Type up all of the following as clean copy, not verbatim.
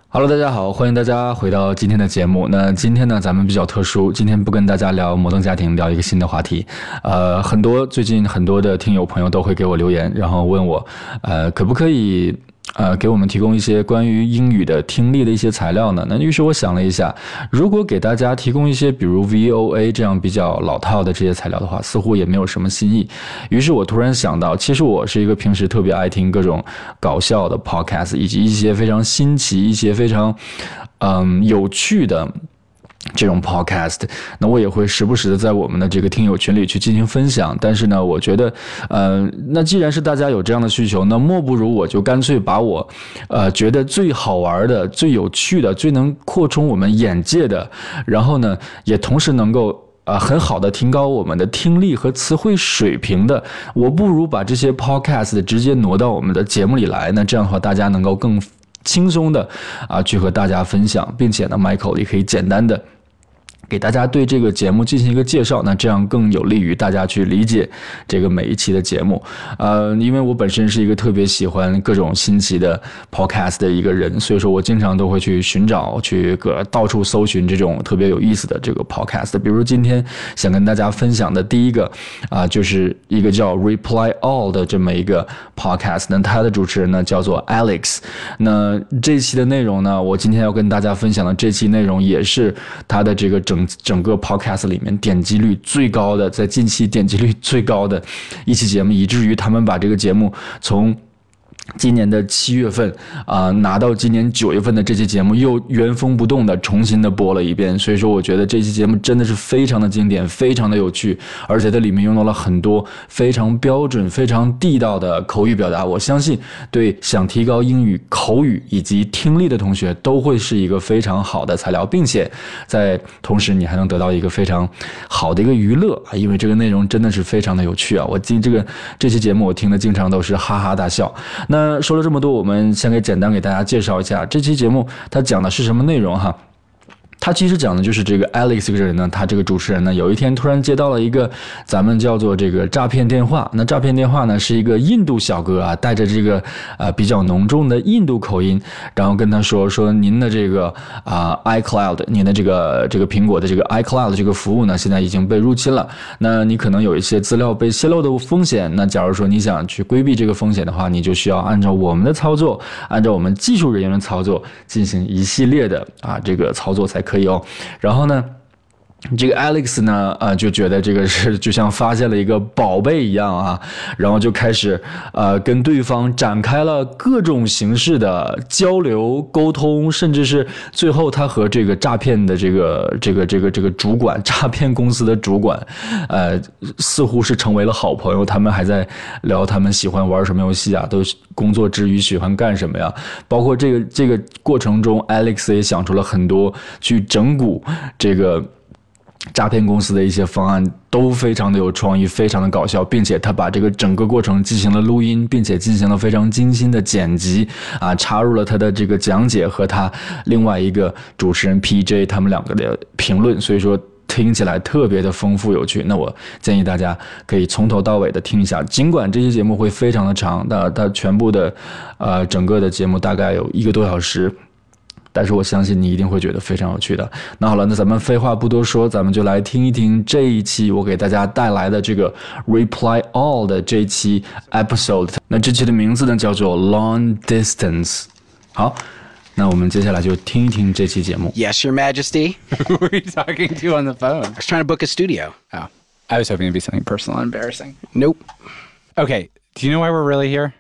Hello， 大家好，欢迎大家回到今天的节目。那今天呢，咱们比较特殊，今天不跟大家聊摩登家庭，聊一个新的话题。最近很多的听友朋友都会给我留言，然后问我，可不可以给我们提供一些关于英语的听力的一些材料呢？那于是我想了一下，如果给大家提供一些比如 VOA 这样比较老套的这些材料的话，似乎也没有什么新意。于是我突然想到，其实我是一个平时特别爱听各种搞笑的 podcast， 以及一些非常新奇、一些非常有趣的这种 podcast， 那我也会时不时的在我们的这个听友群里去进行分享。但是呢，我觉得，那既然是大家有这样的需求，那莫不如我就干脆把我，觉得最好玩的、最有趣的、最能扩充我们眼界的，然后呢，也同时能够很好的提高我们的听力和词汇水平的，我不如把这些 podcast 直接挪到我们的节目里来。那这样的话，大家能够更轻松的去和大家分享，并且呢 Michael 也可以简单的给大家对这个节目进行一个介绍，那这样更有利于大家去理解这个每一期的节目。因为我本身是一个特别喜欢各种新奇的 podcast 的一个人，所以说我经常都会去寻找，去到处搜寻这种特别有意思的这个 podcast。比如今天想跟大家分享的第一个就是一个叫 Reply All 的这么一个 podcast， 那它的主持人呢叫做 Alex。那这一期的内容呢，我今天要跟大家分享的这期内容也是它的这个整个 podcast 里面点击率最高的，在近期点击率最高的一期节目，以至于他们把这个节目从今年的7月份拿到今年9月份的这期节目又原封不动的重新的播了一遍。所以说我觉得这期节目真的是非常的经典，非常的有趣，而且它里面用到了很多非常标准非常地道的口语表达，我相信对想提高英语口语以及听力的同学都会是一个非常好的材料，并且在同时你还能得到一个非常好的一个娱乐因为这个内容真的是非常的有趣我这期节目我听的经常都是哈哈大笑。那说了这么多，我们先简单给大家介绍一下这期节目它讲的是什么内容哈。他其实讲的就是这个 Alex 这个人呢，他这个主持人呢，有一天突然接到了一个咱们叫做这个诈骗电话。那诈骗电话呢是一个印度小哥带着这个比较浓重的印度口音，然后跟他说您的这个iCloud， 您的这个苹果的这个 iCloud 这个服务呢，现在已经被入侵了。那你可能有一些资料被泄露的风险。那假如说你想去规避这个风险的话，你就需要按照我们的操作，按照我们技术人员的操作进行一系列的这个操作才可以然后呢，这个 Alex 呢，就觉得这个是就像发现了一个宝贝一样然后就开始跟对方展开了各种形式的交流沟通，甚至是最后他和这个诈骗的这个主管，诈骗公司的主管，似乎是成为了好朋友。他们还在聊他们喜欢玩什么游戏都工作之余喜欢干什么呀？包括这个过程中 ，Alex 也想出了很多去整蛊这个诈骗公司的一些方案，都非常的有创意，非常的搞笑，并且他把这个整个过程进行了录音，并且进行了非常精心的剪辑插入了他的这个讲解和他另外一个主持人 PJ 他们两个的评论，所以说听起来特别的丰富有趣。那我建议大家可以从头到尾的听一下，尽管这期节目会非常的长，它全部的整个的节目大概有1个多小时，但是我相信你一定会觉得非常有趣的。那好了，那咱们废话不多说，咱们就来听一听这一期我给大家带来的这个 Reply All 的这一期 episode。 那这期的名字呢叫做 Long Distance。 好，那我们接下来就听一听这期节目。 Yes, Your Majesty. Who are you talking to on the phone? I was trying to book a studio. Oh, I was hoping it'd be something personal and embarrassing. Nope. Okay, do you know why we're really here?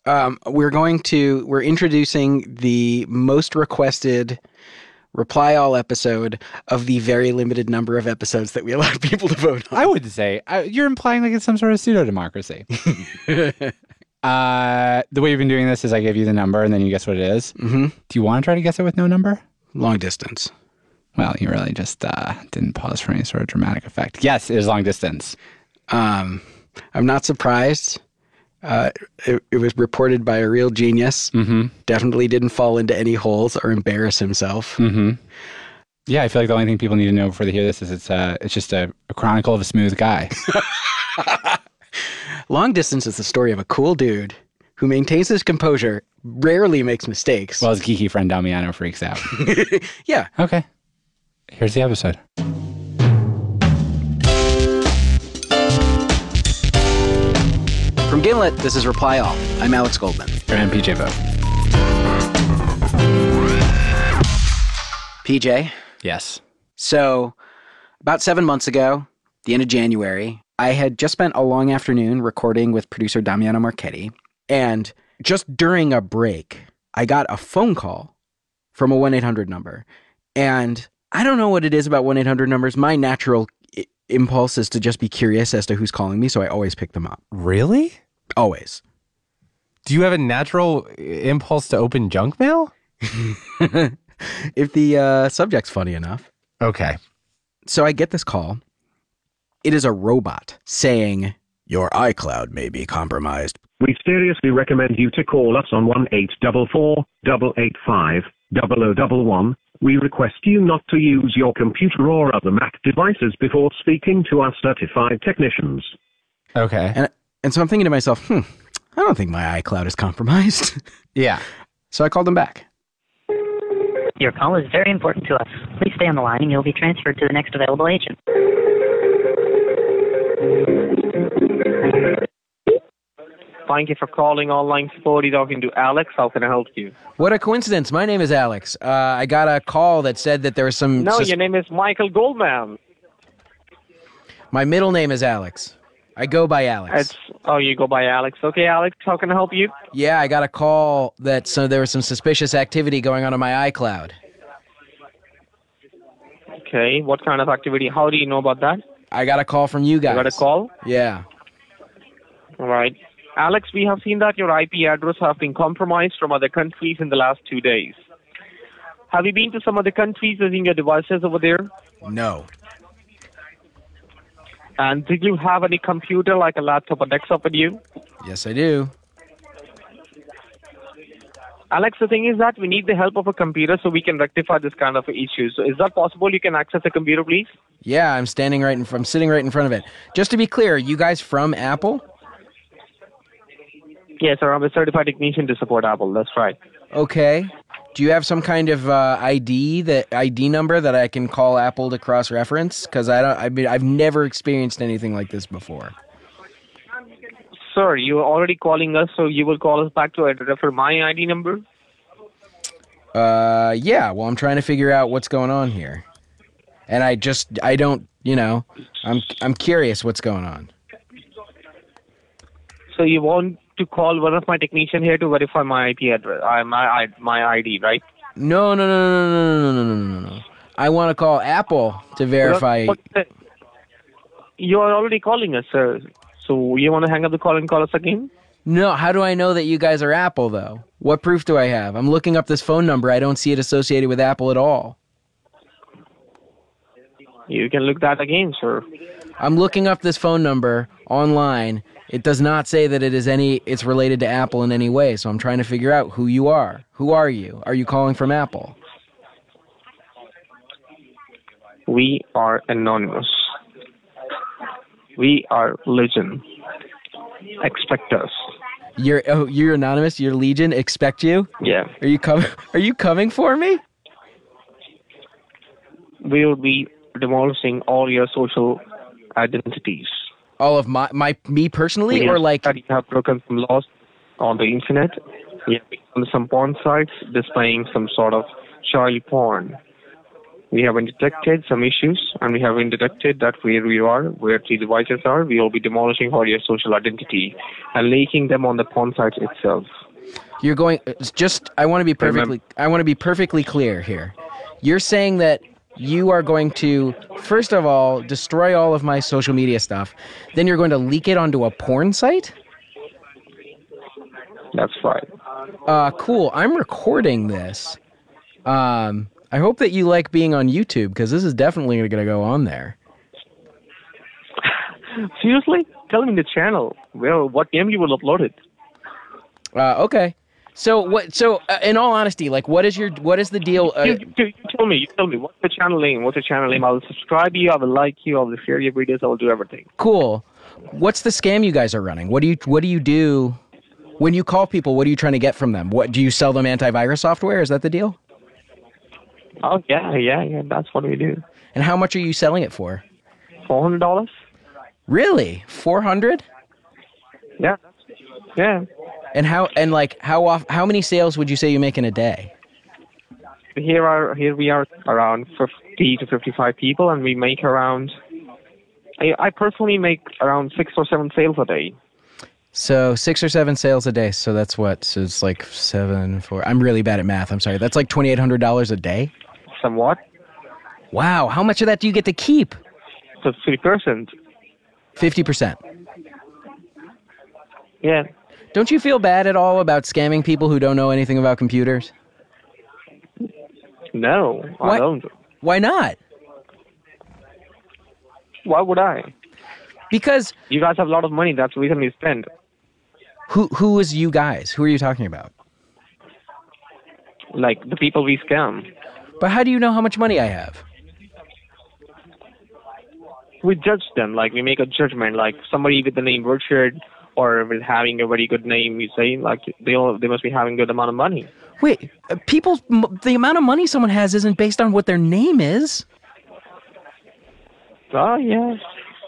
We're introducing the most requested Reply All episode of the very limited number of episodes that we allowed people to vote on. I would say, you're implying like it's some sort of pseudo-democracy. The way you've been doing this is I give you the number and then you guess what it is. Mm-hmm. Do you want to try to guess it with no number? Long distance. Well, you really just didn't pause for any sort of dramatic effect. Yes, it is long distance. I'm not surprised. It was reported by a real genius. Mm-hmm. Definitely didn't fall into any holes or embarrass himself. Mm-hmm. Yeah, I feel like the only thing people need to know before they hear this is it's just a chronicle of a smooth guy. Long Distance is the story of a cool dude who maintains his composure, rarely makes mistakes. Well, his geeky friend Damiano freaks out. Yeah. Okay. Here's the episode. From Gimlet, this is Reply All. I'm Alex Goldman. And PJ Vogt. PJ, Yes. so about 7 months ago, the end of January, I had just spent a long afternoon recording with producer Damiano Marchetti, and just during a break, I got a phone call from a 1-800 number. And I don't know what it is about 1-800 numbers. My natural impulse is to just be curious as to who's calling me, so I always pick them up. Really? Always. Do you have a natural impulse to open junk mail? If the subject's funny enough. Okay. So I get this call. It is a robot saying, "Your iCloud may be compromised." We seriously recommend you to call us on 1-844-885-0011. We request you not to use your computer or other Mac devices before speaking to our certified technicians. Okay. And so I'm thinking to myself, I don't think my iCloud is compromised. Yeah. So I called him back. Your call is very important to us. Please stay on the line and you'll be transferred to the next available agent. Thank you for calling online support. You're talking to Alex. How can I help you? What a coincidence. My name is Alex. I got a call that said that there was some... No, your name is Michael Goldman. My middle name is Alex. I go by Alex. You go by Alex. Okay, Alex, how can I help you? Yeah, I got a call that there was some suspicious activity going on my iCloud. Okay, what kind of activity? How do you know about that? I got a call from you guys. You got a call? Yeah. All right. Alex, we have seen that your IP address has been compromised from other countries in the last 2 days. Have you been to some other countries using your devices over there? No. And did you have any computer like a laptop or desktop with you? Yes, I do. Alex, the thing is that we need the help of a computer so we can rectify this kind of issue. So is that possible? You can access the computer, please? Yeah, I'm sitting right in front of it. Just to be clear, you guys from Apple? Yes, sir. I'm a certified technician to support Apple. That's right. Okay. Do you have some kind of ID number that I can call Apple to cross-reference? Because I've never experienced anything like this before. Sir, you are already calling us, so you will call us back to refer my ID number? Yeah. Well, I'm trying to figure out what's going on here, and I'm curious what's going on. So you want to call one of my technicians here to verify my IP address, my ID, right? No. I want to call Apple to verify. You are already calling us, sir. So you want to hang up the call and call us again? No, how do I know that you guys are Apple, though? What proof do I have? I'm looking up this phone number. I don't see it associated with Apple at all. You can look that again, sir. I'm looking up this phone number online. It does not say that it's related to Apple in any way, so I'm trying to figure out who you are. Who are you? Are you calling from Apple? We are anonymous. We are Legion. Expect us. You're anonymous. You're Legion. Expect you. Yeah. Are you coming for me? We will be demolishing all your social identities. All of me personally, or like that you have broken some laws on the internet. We have been on some porn sites displaying some sort of child porn. We have detected some issues, and we have detected that where you are, where the devices are, we will be demolishing all your social identity and leaking them on the porn sites itself. You're going. I want to be perfectly clear here. You're saying that you are going to, first of all, destroy all of my social media stuff. Then you're going to leak it onto a porn site? That's right. Cool. I'm recording this. I hope that you like being on YouTube, because this is definitely going to go on there. Seriously? Tell me the channel. Well, what game you will upload it? Okay. So in all honesty, like, what is the deal? You tell me. What's the channel name? I will subscribe you. I will like you. I will share your videos. I will do everything. Cool. What's the scam you guys are running? What do you do? When you call people, what are you trying to get from them? What do you sell them antivirus software? Is that the deal? Oh, yeah. That's what we do. And how much are you selling it for? $400? Really? 400? Yeah. Yeah. And how many sales would you say you make in a day? Here we are around 50 to 55 people, and we make around. I personally make around 6 or 7 sales a day. So 6 or 7 sales a day. So that's what? So it's like 7, 4. I'm really bad at math. I'm sorry. That's like $2,800 a day. Somewhat. Wow. How much of that do you get to keep? So 3%. 50%. Yeah. Don't you feel bad at all about scamming people who don't know anything about computers? No, Why? I don't. Why not? Why would I? Because You guys have a lot of money. That's the reason we spend. who is you guys? Who are you talking about? Like the people we scam. But how do you know how much money I have? We judge them. Like we make a judgment. Like somebody with the name Richard or with having a very good name, we say like they must be having a good amount of money. Wait, the amount of money someone has isn't based on what their name is. Oh yeah.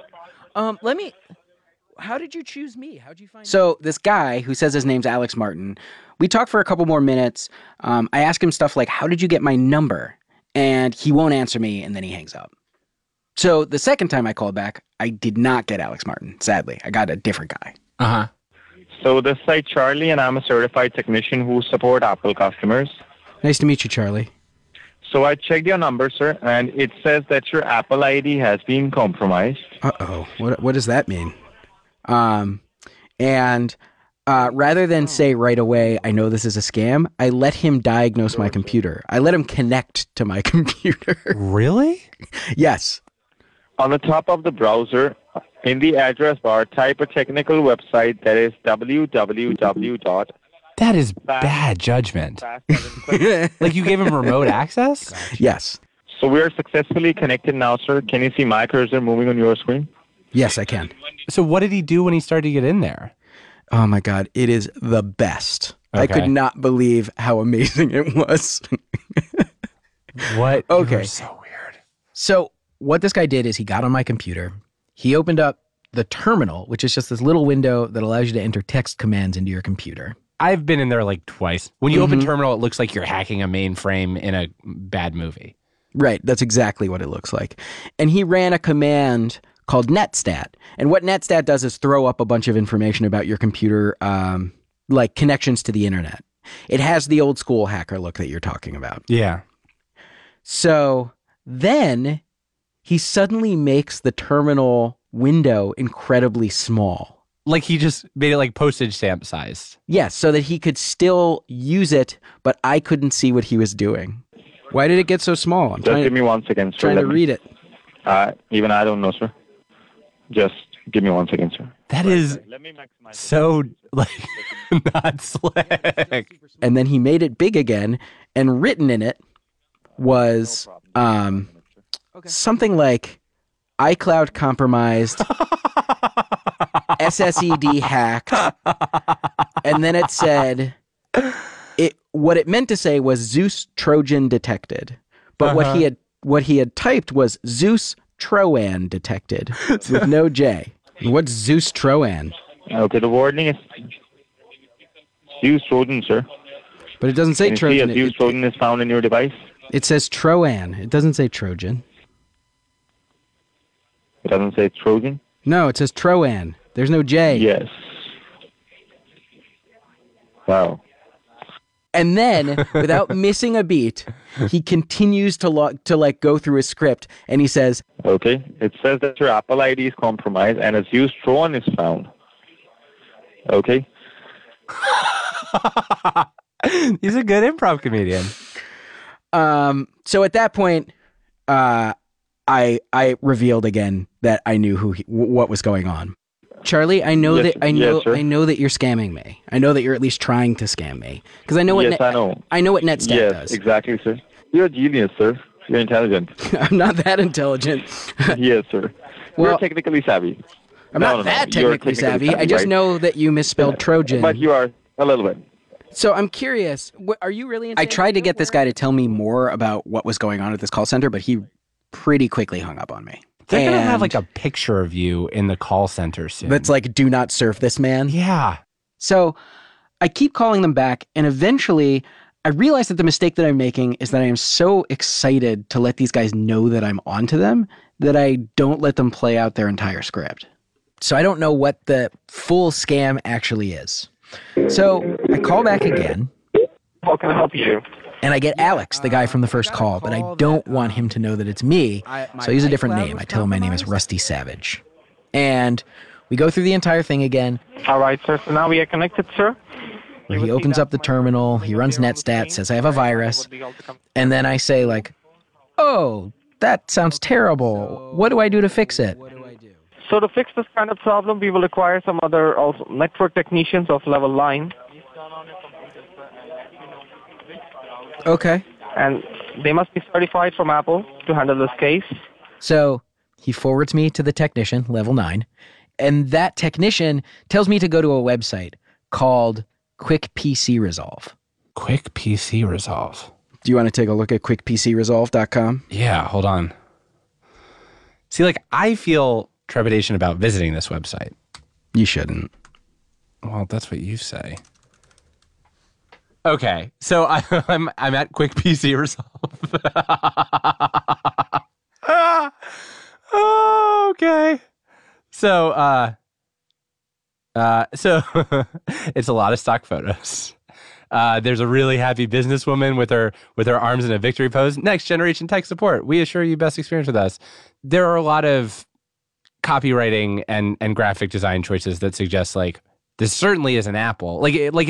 How did you choose me? How'd you find? So this guy who says his name's Alex Martin, we talked for a couple more minutes. I ask him stuff like, "How did you get my number?" And he won't answer me, and then he hangs up. So the second time I called back, I did not get Alex Martin. Sadly, I got a different guy. Uh-huh. So this is Charlie, and I'm a certified technician who support Apple customers. Nice to meet you, Charlie. So I checked your number, sir, and it says that your Apple ID has been compromised. Uh-oh. What does that mean? Rather than say right away, I know this is a scam, I let him diagnose my computer. I let him connect to my computer. Really? Yes. On the top of the browser, in the address bar, type a technical website that is www. That is bad judgment. Like you gave him remote access? Yes. So we are successfully connected now, sir. Can you see my cursor moving on your screen? Yes, I can. So what did he do when he started to get in there? Oh my God, it is the best. I Okay. could not believe how amazing it was. What? Okay. You're so weird. So what this guy did is he got on my computer. He opened up the terminal, which is just this little window that allows you to enter text commands into your computer. I've been in there like twice. When you open terminal, it looks like you're hacking a mainframe in a bad movie. Right, that's exactly what it looks like. And he ran a command called netstat. And what netstat does is throw up a bunch of information about your computer, like connections to the internet. It has the old school hacker look that you're talking about. Yeah. So then he suddenly makes the terminal window incredibly small. Like he just made it like postage stamp sized. Yes, so that he could still use it, but I couldn't see what he was doing. Why did it get so small? I'm Just give me 1 second, sir. trying to read it. Even I don't know, sir. Just give me 1 second, sir. That is Let me maximize. so like not slick. And then he made it big again, and written in it was something like iCloud compromised, SSED hacked, and then it said what it meant to say was Zeus Trojan detected. But what he had typed was Zeus Troan detected with no J. What's Zeus Troan? Okay, the warning is Zeus Trojan, sir. But it doesn't say Can you Trojan. see a Zeus Trojan is found in your device? It says Troan. It doesn't say Trojan. It doesn't say Trojan? No, it says Troan. There's no J. Yes. Wow. And then, without missing a beat, he continues to go through his script, and he says, Okay. It says that your Apple ID is compromised and a Zeus Trojan is found. Okay. He's a good improv comedian. So at that point, I revealed again that I knew what was going on. Charlie, I know Yes, that sir. I know that you're scamming me. I know that you're at least trying to scam me because I know what Yes, I know. I know what Netstat Yes, does. exactly, sir. You're a genius, sir. You're intelligent. I'm not that intelligent. Yes, sir. Well- You're technically savvy. I'm No, not no, that no. You're technically savvy. I just right? know that you misspelled Trojan. But you are a little bit. So I'm curious. Are you really? I tried to get this guy to tell me more about what was going on at this call center, but he pretty quickly hung up on me. They're going to have And like a picture of you in the call center soon. that's like, do not surf this man. yeah. So I keep calling them back, and eventually I realize that the mistake that I'm making is that I am so excited to let these guys know that I'm onto them that I don't let them play out their entire script. So I don't know what the full scam actually is. So I call back again, How can I help you? and I get Alex, the guy from the first call, but I don't want him to know that it's me. So I use a different name. I tell him my name is Rusty Savage. And we go through the entire thing again. All right, sir. So now we are connected, sir. Where he opens up the terminal, he runs Netstat, says I have a virus, and then I say like, oh, that sounds terrible. What do I do to fix it? So to fix this kind of problem, we will require some other also network technicians of level 9, Okay. and they must be certified from Apple to handle this case. So he forwards me to the technician, level 9, and that technician tells me to go to a website called Quick PC Resolve. Quick PC Resolve. Do you want to take a look at quickpcresolve.com? Yeah, hold on. See, like, I feel trepidation about visiting this website. You shouldn't. Well, that's what you say. Okay, so I'm at Quick PC Resolve. Okay. So it's a lot of stock photos. There's a really happy businesswoman with her arms in a victory pose. Next generation tech support. We assure you best experience with us. There are a lot of copywriting and graphic design choices that suggest like this certainly is an Apple.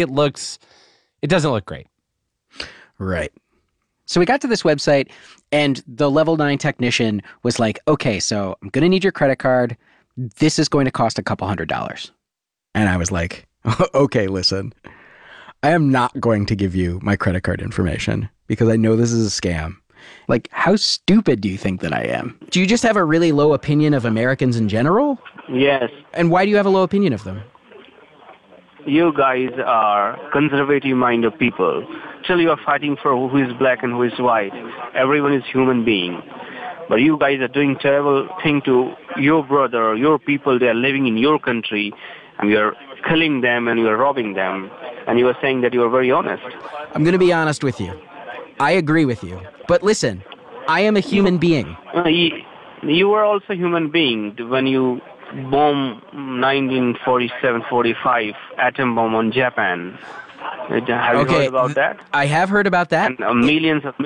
It doesn't look great. Right. So we got to this website, and the level 9 technician was like, okay, so I'm going to need your credit card. This is going to cost $200. And I was like, okay, listen, I am not going to give you my credit card information because I know this is a scam. Like, how stupid do you think that I am? Do you just have a really low opinion of Americans in general? Yes. And why do you have a low opinion of them? You guys are conservative-minded people. Still you are fighting for who is black and who is white. Everyone is human being. But you guys are doing terrible thing to your brother, your people. They are living in your country, and you are killing them and you are robbing them. And you are saying that you are very honest. I'm going to be honest with you. I agree with you. But listen, I am a human being. You were also a human being when you bomb 1947-45 atom bomb on Japan. Have you heard about that? I have heard about that. And millions of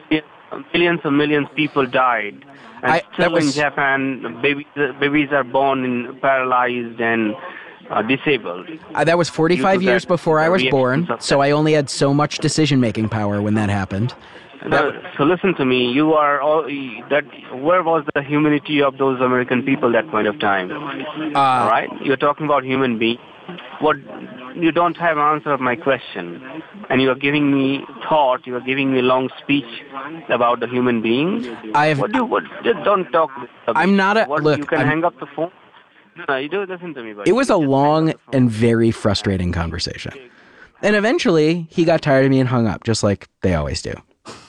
people died. And still in Japan, babies are born in paralyzed and disabled. That was 45 years before I was born, so I only had so much decision-making power when that happened. So listen to me. You are all that. Where was the humanity of those American people that point of time? All right, you're talking about human beings. What you don't have an answer of my question, and you are giving me thought. You are giving me long speech about the human being. Don't talk. I'm not a look. You can hang up the phone. No, you do listen to me. Buddy. It was a long and very frustrating conversation, and eventually he got tired of me and hung up, just like they always do.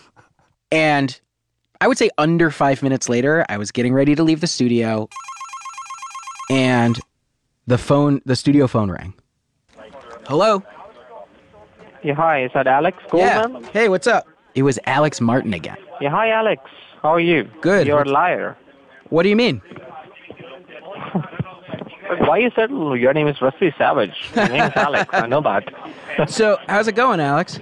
And I would say under 5 minutes later, I was getting ready to leave the studio, and the studio phone rang. Hello? Yeah, hi. Is that Alex Goldman? Yeah. Hey, what's up? It was Alex Martin again. Yeah, hi, Alex. How are you? Good. You're a liar. What do you mean? Why you said your name is Rusty Savage? My name is Alex. I know that. So, how's it going, Alex?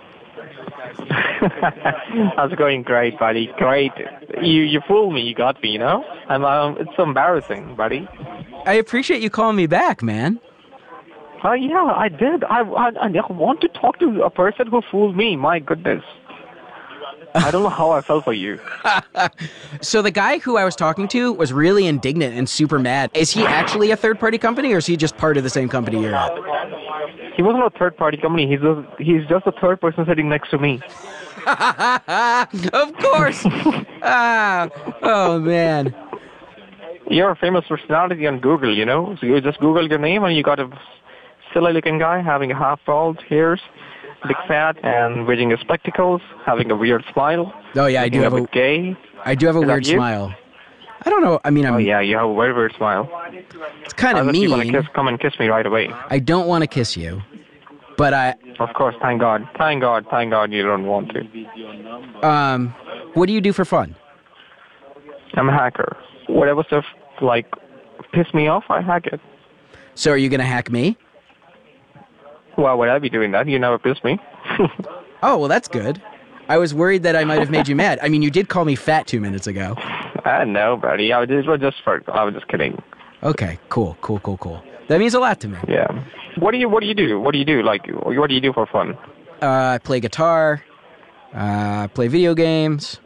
How's it going? Great, buddy. Great. You fooled me. You got me, you know? It's embarrassing, buddy. I appreciate you calling me back, man. Yeah, I did. I want to talk to a person who fooled me. My goodness. I don't know how I felt for you. So the guy who I was talking to was really indignant and super mad. Is he actually a third-party company, or is he just part of the same company you're at? He wasn't a third-party company. He's just a third person sitting next to me. Of course. Oh, man. You're a famous personality on Google, you know? So you just Google your name and you got a silly-looking guy having a half-bald hairs, big fat, and wearing his spectacles, having a weird smile. Oh, yeah, I do have a gay. I do have a Is that weird you? smile. I don't know. I mean, Oh, yeah, you have a very weird smile. It's kind of Unless you want mean. to come and kiss me right away. I don't want to kiss you, but Of course, thank God. Thank God you don't want to. what do you do for fun? I'm a hacker. Whatever stuff, like, piss me off, I hack it. So are you going to hack me? Why would I be doing that? You never piss me. Oh, well, that's good. I was worried that I might have made you mad. I mean, you did call me fat 2 minutes ago. No, buddy. I was just kidding. Okay, cool. That means a lot to me. Yeah. What do you do? What do you do? Like, what do you do for fun? I play guitar. Play video games.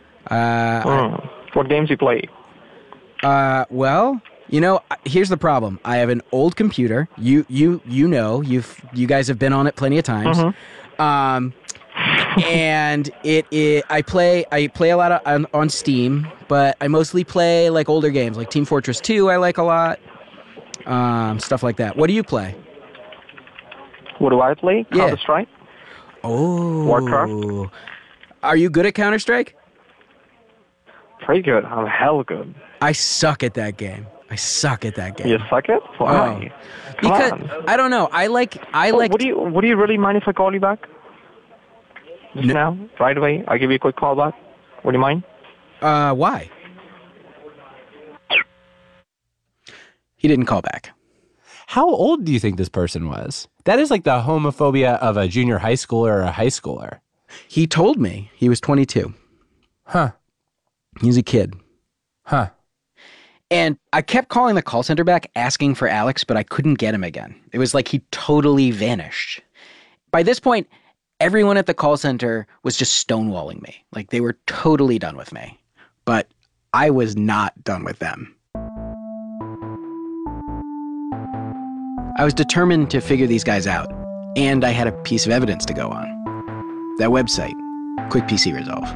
What games you play? Well, you know, here's the problem. I have an old computer. You know, you guys have been on it plenty of times. And I play a lot on Steam, but I mostly play like older games, like Team Fortress 2. I like a lot, stuff like that. What do you play? What do I play? Yeah. Counter-Strike? Oh, Warcraft? Are you good at Counter-Strike? Pretty good. I'm hell good. I suck at that game. You suck it? Why? Because Come on. I don't know. I like. Would you really mind if I call you back? Just now, right away. I'll give you a quick call back. Would you mind? Why? He didn't call back. How old do you think this person was? That is like the homophobia of a junior high schooler or a high schooler. He told me he was 22. Huh. He's a kid. Huh. And I kept calling the call center back asking for Alex, but I couldn't get him again. It was like he totally vanished. By this point, everyone at the call center was just stonewalling me. Like they were totally done with me. But I was not done with them. I was determined to figure these guys out, and I had a piece of evidence to go on. That website, Quick PC Resolve.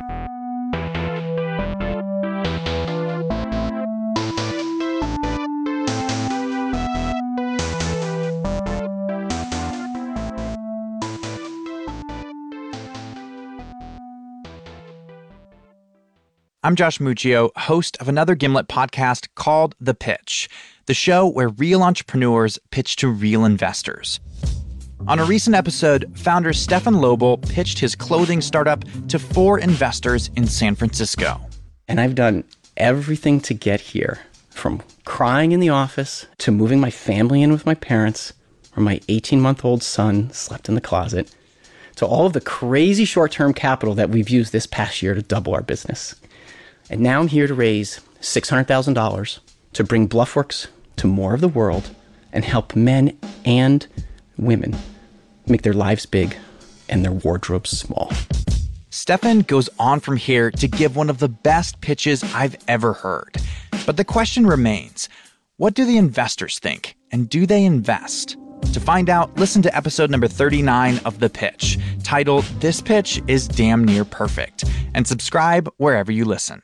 I'm Josh Muccio, host of another Gimlet podcast called The Pitch, the show where real entrepreneurs pitch to real investors. On a recent episode, founder Stefan Lobel pitched his clothing startup to 4 investors in San Francisco. And I've done everything to get here, from crying in the office to moving my family in with my parents, where my 18-month-old son slept in the closet, to all of the crazy short-term capital that we've used this past year to double our business. And now I'm here to raise $600,000 to bring Bluffworks to more of the world and help men and women make their lives big and their wardrobes small. Stefan goes on from here to give one of the best pitches I've ever heard. But the question remains, what do the investors think? And do they invest? To find out, listen to episode number 39 of The Pitch, titled This Pitch is Damn Near Perfect, and subscribe wherever you listen.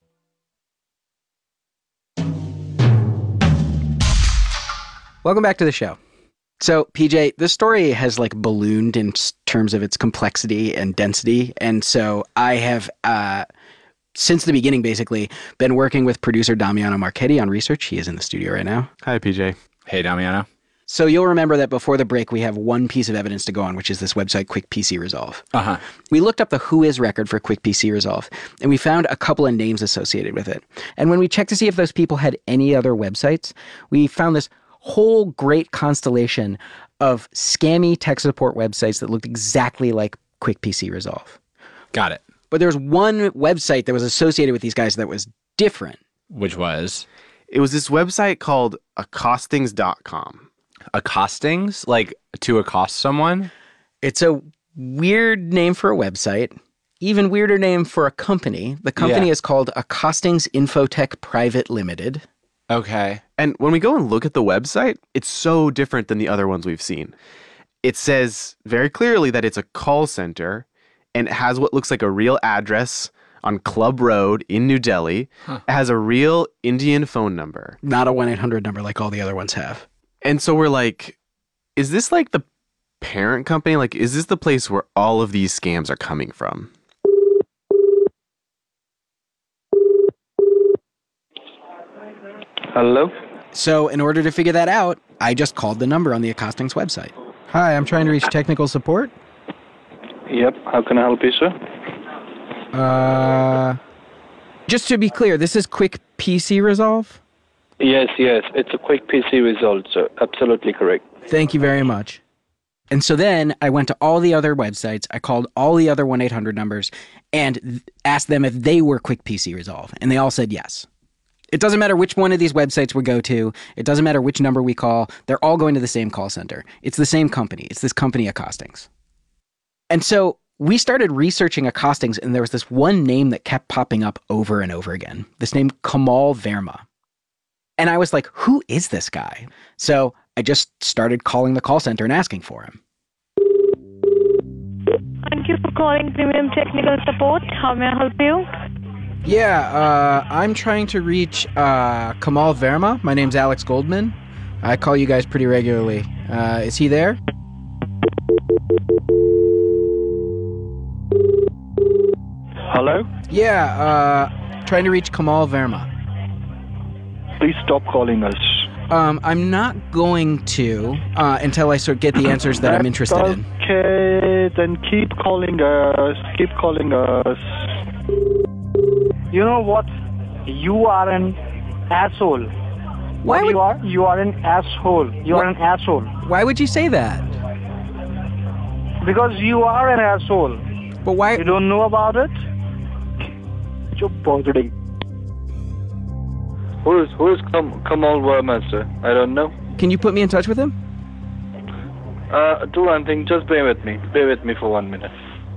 Welcome back to the show. So, PJ, this story has like ballooned in terms of its complexity and density. And so I have, since the beginning, basically, been working with producer Damiano Marchetti on research. He is in the studio right now. Hi, PJ. Hey, Damiano. So you'll remember that before the break, we have one piece of evidence to go on, which is this website, Quick PC Resolve. Uh-huh. We looked up the Whois record for Quick PC Resolve, and we found a couple of names associated with it. And when we checked to see if those people had any other websites, we found this whole great constellation of scammy tech support websites that looked exactly like Quick PC Resolve. Got it. But there was one website that was associated with these guys that was different. Which was? It was this website called accostings.com. Accostings? Like to accost someone? It's a weird name for a website. Even weirder name for a company. The company is called Accostings Infotech Private Limited. Okay. And when we go and look at the website, it's so different than the other ones we've seen. It says very clearly that it's a call center and it has what looks like a real address on Club Road in New Delhi. It has a real Indian phone number. Not a 1-800 number like all the other ones have. And so we're like, is this like the parent company? Like, is this the place where all of these scams are coming from? Hello? So in order to figure that out, I just called the number on the Accostings website. Hi, I'm trying to reach technical support. Yep, how can I help you, sir? Just to be clear, this is Quick PC Resolve? Yes, it's a Quick PC Resolve, sir. Absolutely correct. Thank you very much. And so then I went to all the other websites, I called all the other 1-800 numbers, and asked them if they were Quick PC Resolve, and they all said yes. It doesn't matter which one of these websites we go to. It doesn't matter which number we call. They're all going to the same call center. It's the same company. It's this company, Accostings. And so we started researching Accostings, and there was this one name that kept popping up over and over again. This name, Kamal Verma. And I was like, who is this guy? So I just started calling the call center and asking for him. Thank you for calling Premium Technical Support. How may I help you? Yeah, I'm trying to reach Kamal Verma. My name's Alex Goldman. I call you guys pretty regularly. Is he there? Hello? Yeah, trying to reach Kamal Verma. Please stop calling us. I'm not going to until I sort of get the answers that I'm interested in. Okay, then keep calling us. Keep calling us. You know what? You are an asshole. Why would... You are an asshole. You are an asshole. Why would you say that? Because you are an asshole. But why? You don't know about it? You're bothering. Who is Kamal Verma, sir? I don't know. Can you put me in touch with him? Do one thing. Just bear with me. Bear with me for 1 minute.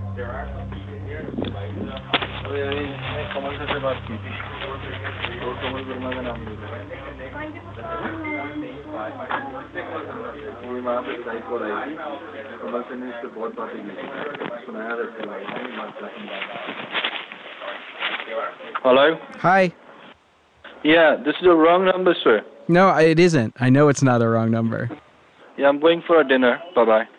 Hello? Hi. Yeah, this is the wrong number, sir. No, it isn't. I know it's not a wrong number. Yeah, I'm going for a dinner. Bye-bye.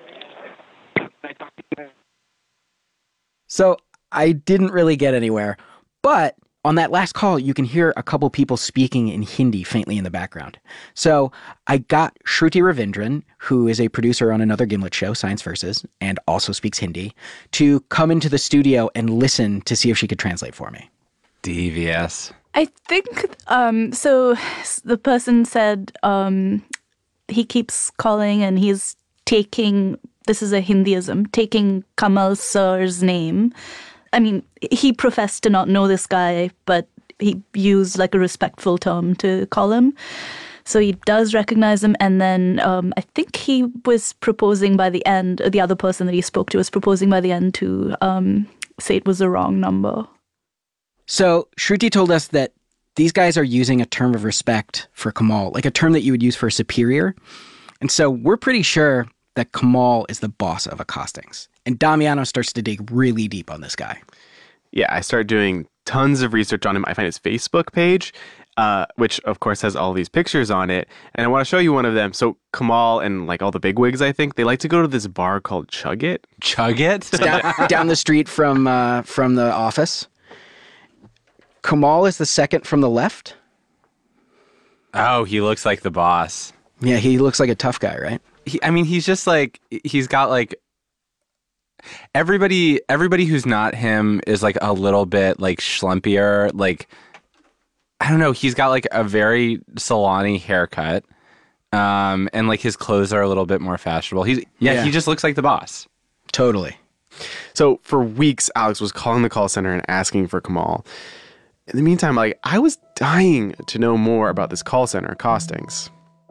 So I didn't really get anywhere. But on that last call, you can hear a couple people speaking in Hindi faintly in the background. So I got Shruti Ravindran, who is a producer on another Gimlet show, Science Versus, and also speaks Hindi, to come into the studio and listen to see if she could translate for me. Devious. I think, so the person said he keeps calling and he's taking, this is a Hindiism, taking Kamal Sir's name. I mean, he professed to not know this guy, but he used like a respectful term to call him. So he does recognize him. And then I think he was proposing by the end, the other person that he spoke to was proposing by the end to say it was the wrong number. So Shruti told us that these guys are using a term of respect for Kamal, like a term that you would use for a superior. And so we're pretty sure that Kamal is the boss of Accostings. And Damiano starts to dig really deep on this guy. Yeah, I started doing tons of research on him. I find his Facebook page, which of course has all these pictures on it. And I want to show you one of them. So Kamal and like all the bigwigs, I think, they like to go to this bar called Chug It. Chug It? down the street from the office. Kamal is the second from the left. Oh, he looks like the boss. Yeah, he looks like a tough guy, right? He's just like, he's got like, everybody who's not him is like a little bit like schlumpier. Like, I don't know, he's got like a very salon-y haircut. And like his clothes are a little bit more fashionable. He just looks like the boss. Totally. So for weeks, Alex was calling the call center and asking for Kamal. In the meantime, like, I was dying to know more about this call center, Accostings.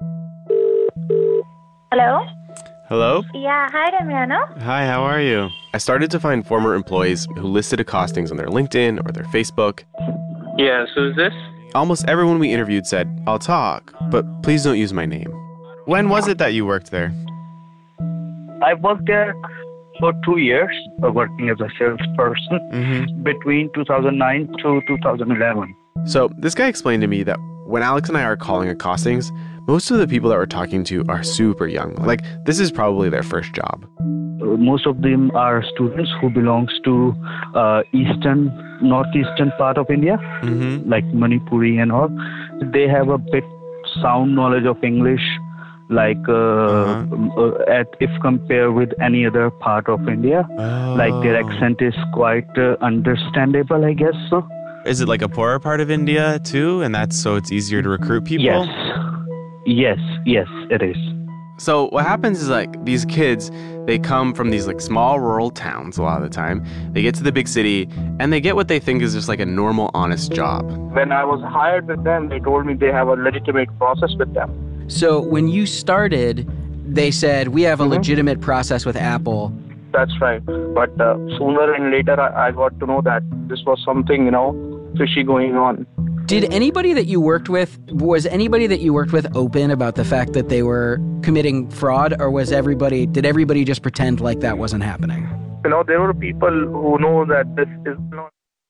Hello? Hello? Yeah, hi, Damiano. Hi, how are you? I started to find former employees who listed Accostings on their LinkedIn or their Facebook. Yes, who's this? Almost everyone we interviewed said, I'll talk, but please don't use my name. When was it that you worked there? I worked there For 2 years, working as a salesperson between 2009 to 2011. So this guy explained to me that when Alex and I are calling Accostings, most of the people that we're talking to are super young. Like, this is probably their first job. Most of them are students who belongs to northeastern part of India, like Manipuri and all. They have a bit sound knowledge of English, like if compared with any other part of India. Like their accent is quite understandable, I guess so. Is it like a poorer part of India too? And so it's easier to recruit people? Yes, it is. So what happens is like these kids, they come from these like small rural towns a lot of the time. They get to the big city and they get what they think is just like a normal, honest job. When I was hired with them, they told me they have a legitimate process with them. So when you started, they said, we have a legitimate process with Apple. That's right. But sooner and later, I got to know that this was something, fishy going on. Was anybody that you worked with open about the fact that they were committing fraud, or did everybody just pretend like that wasn't happening? There were people who know that this is not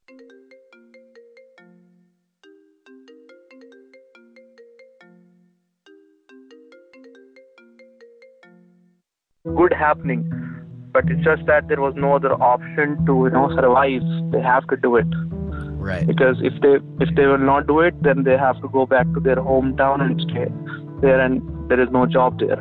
good happening, but it's just that there was no other option to survive. They have to do it. Right. Because if they will not do it, then they have to go back to their hometown and stay there, and there is no job there.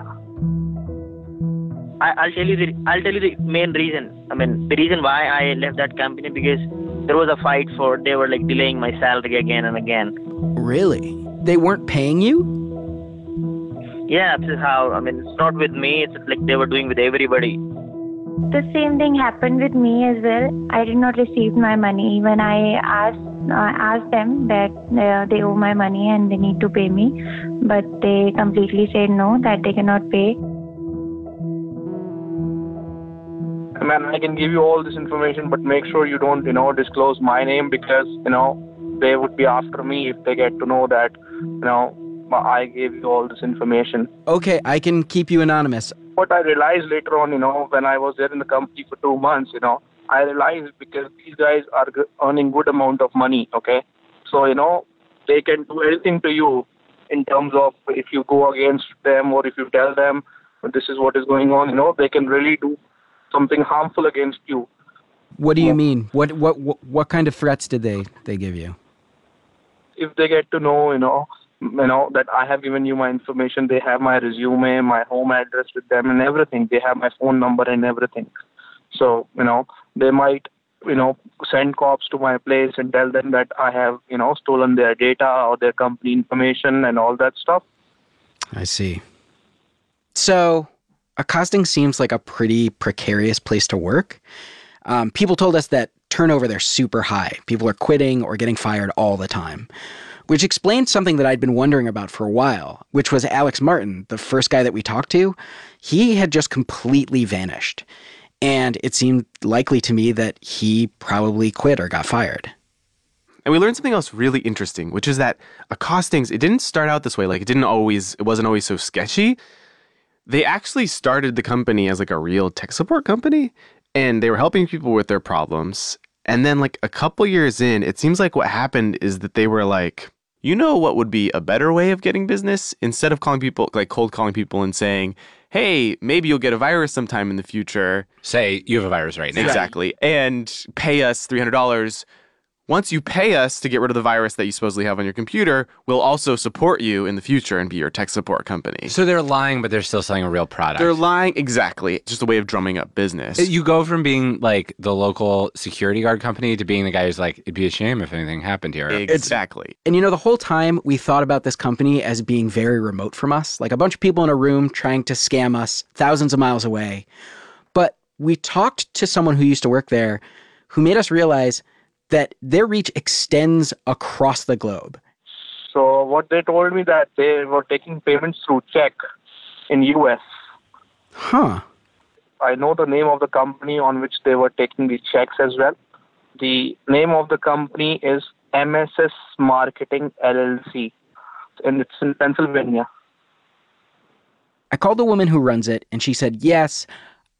I'll tell you the main reason. The reason why I left that company, because there was a fight they were like delaying my salary again and again. Really? They weren't paying you? Yeah, this is how. It's not with me. It's like they were doing with everybody. The same thing happened with me as well. I did not receive my money when I asked them that they owe my money and they need to pay me, but they completely said no, that they cannot pay. I can give you all this information, but make sure you don't, disclose my name, because, they would be after me if they get to know that, I gave you all this information. Okay, I can keep you anonymous. What I realized later on, when I was there in the company for 2 months, I realized because these guys are earning good amount of money, okay? So, they can do anything to you in terms of if you go against them or if you tell them this is what is going on, they can really do something harmful against you. What do you mean? What kind of threats did they give you? If they get to know, that I have given you my information, they have my resume, my home address with them and everything. They have my phone number and everything. So, they might, send cops to my place and tell them that I have, stolen their data or their company information and all that stuff. I see. So, Accosting seems like a pretty precarious place to work. People told us that turnover there super high. People are quitting or getting fired all the time. Which explains something that I'd been wondering about for a while, which was Alex Martin, the first guy that we talked to. He had just completely vanished. And it seemed likely to me that he probably quit or got fired. And we learned something else really interesting, which is that Accostings, it didn't start out this way. Like, it wasn't always so sketchy. They actually started the company as like a real tech support company, and they were helping people with their problems. And then like a couple years in, it seems like what happened is that they were like, what would be a better way of getting business? Instead of calling people, like cold calling people and saying, hey, maybe you'll get a virus sometime in the future. Say you have a virus right now. Exactly. And pay us $300. Once you pay us to get rid of the virus that you supposedly have on your computer, we'll also support you in the future and be your tech support company. So they're lying, but they're still selling a real product. They're lying, exactly. It's just a way of drumming up business. You go from being like the local security guard company to being the guy who's like, it'd be a shame if anything happened here. Exactly. And the whole time we thought about this company as being very remote from us, like a bunch of people in a room trying to scam us thousands of miles away. But we talked to someone who used to work there who made us realize that their reach extends across the globe. So what they told me that they were taking payments through check in US. Huh. I know the name of the company on which they were taking the checks as well. The name of the company is MSS Marketing LLC, and it's in Pennsylvania. I called the woman who runs it, and she said, yes,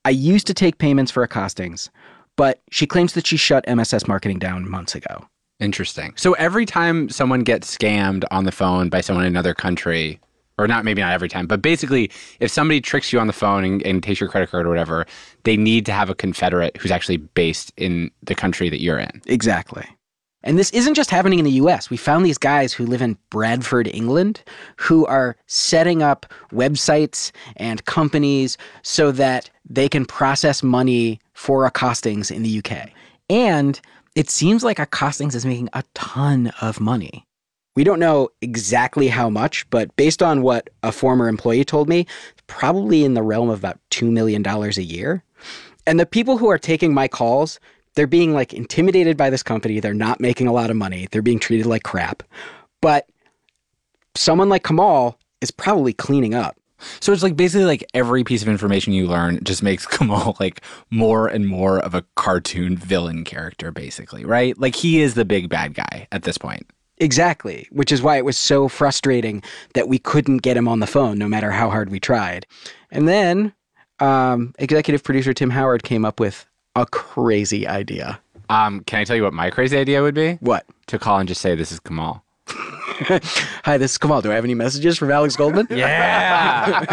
I used to take payments for accostings, but she claims that she shut MSS Marketing down months ago. Interesting. So every time someone gets scammed on the phone by someone in another country, or maybe not every time, but basically if somebody tricks you on the phone and takes your credit card or whatever, they need to have a confederate who's actually based in the country that you're in. Exactly. And this isn't just happening in the US. We found these guys who live in Bradford, England, who are setting up websites and companies so that they can process money for accostings in the UK. And it seems like accostings is making a ton of money. We don't know exactly how much, but based on what a former employee told me, probably in the realm of about $2 million a year. And the people who are taking my calls, they're being like intimidated by this company. They're not making a lot of money. They're being treated like crap. But someone like Kamal is probably cleaning up. So it's like basically like every piece of information you learn just makes Kamal like more and more of a cartoon villain character, basically, right? Like he is the big bad guy at this point. Exactly, which is why it was so frustrating that we couldn't get him on the phone no matter how hard we tried. And then executive producer Tim Howard came up with a crazy idea. Can I tell you what my crazy idea would be? What? To call and just say, "This is Kamal." Hi, this is Kamal. Do I have any messages from Alex Goldman? Yeah.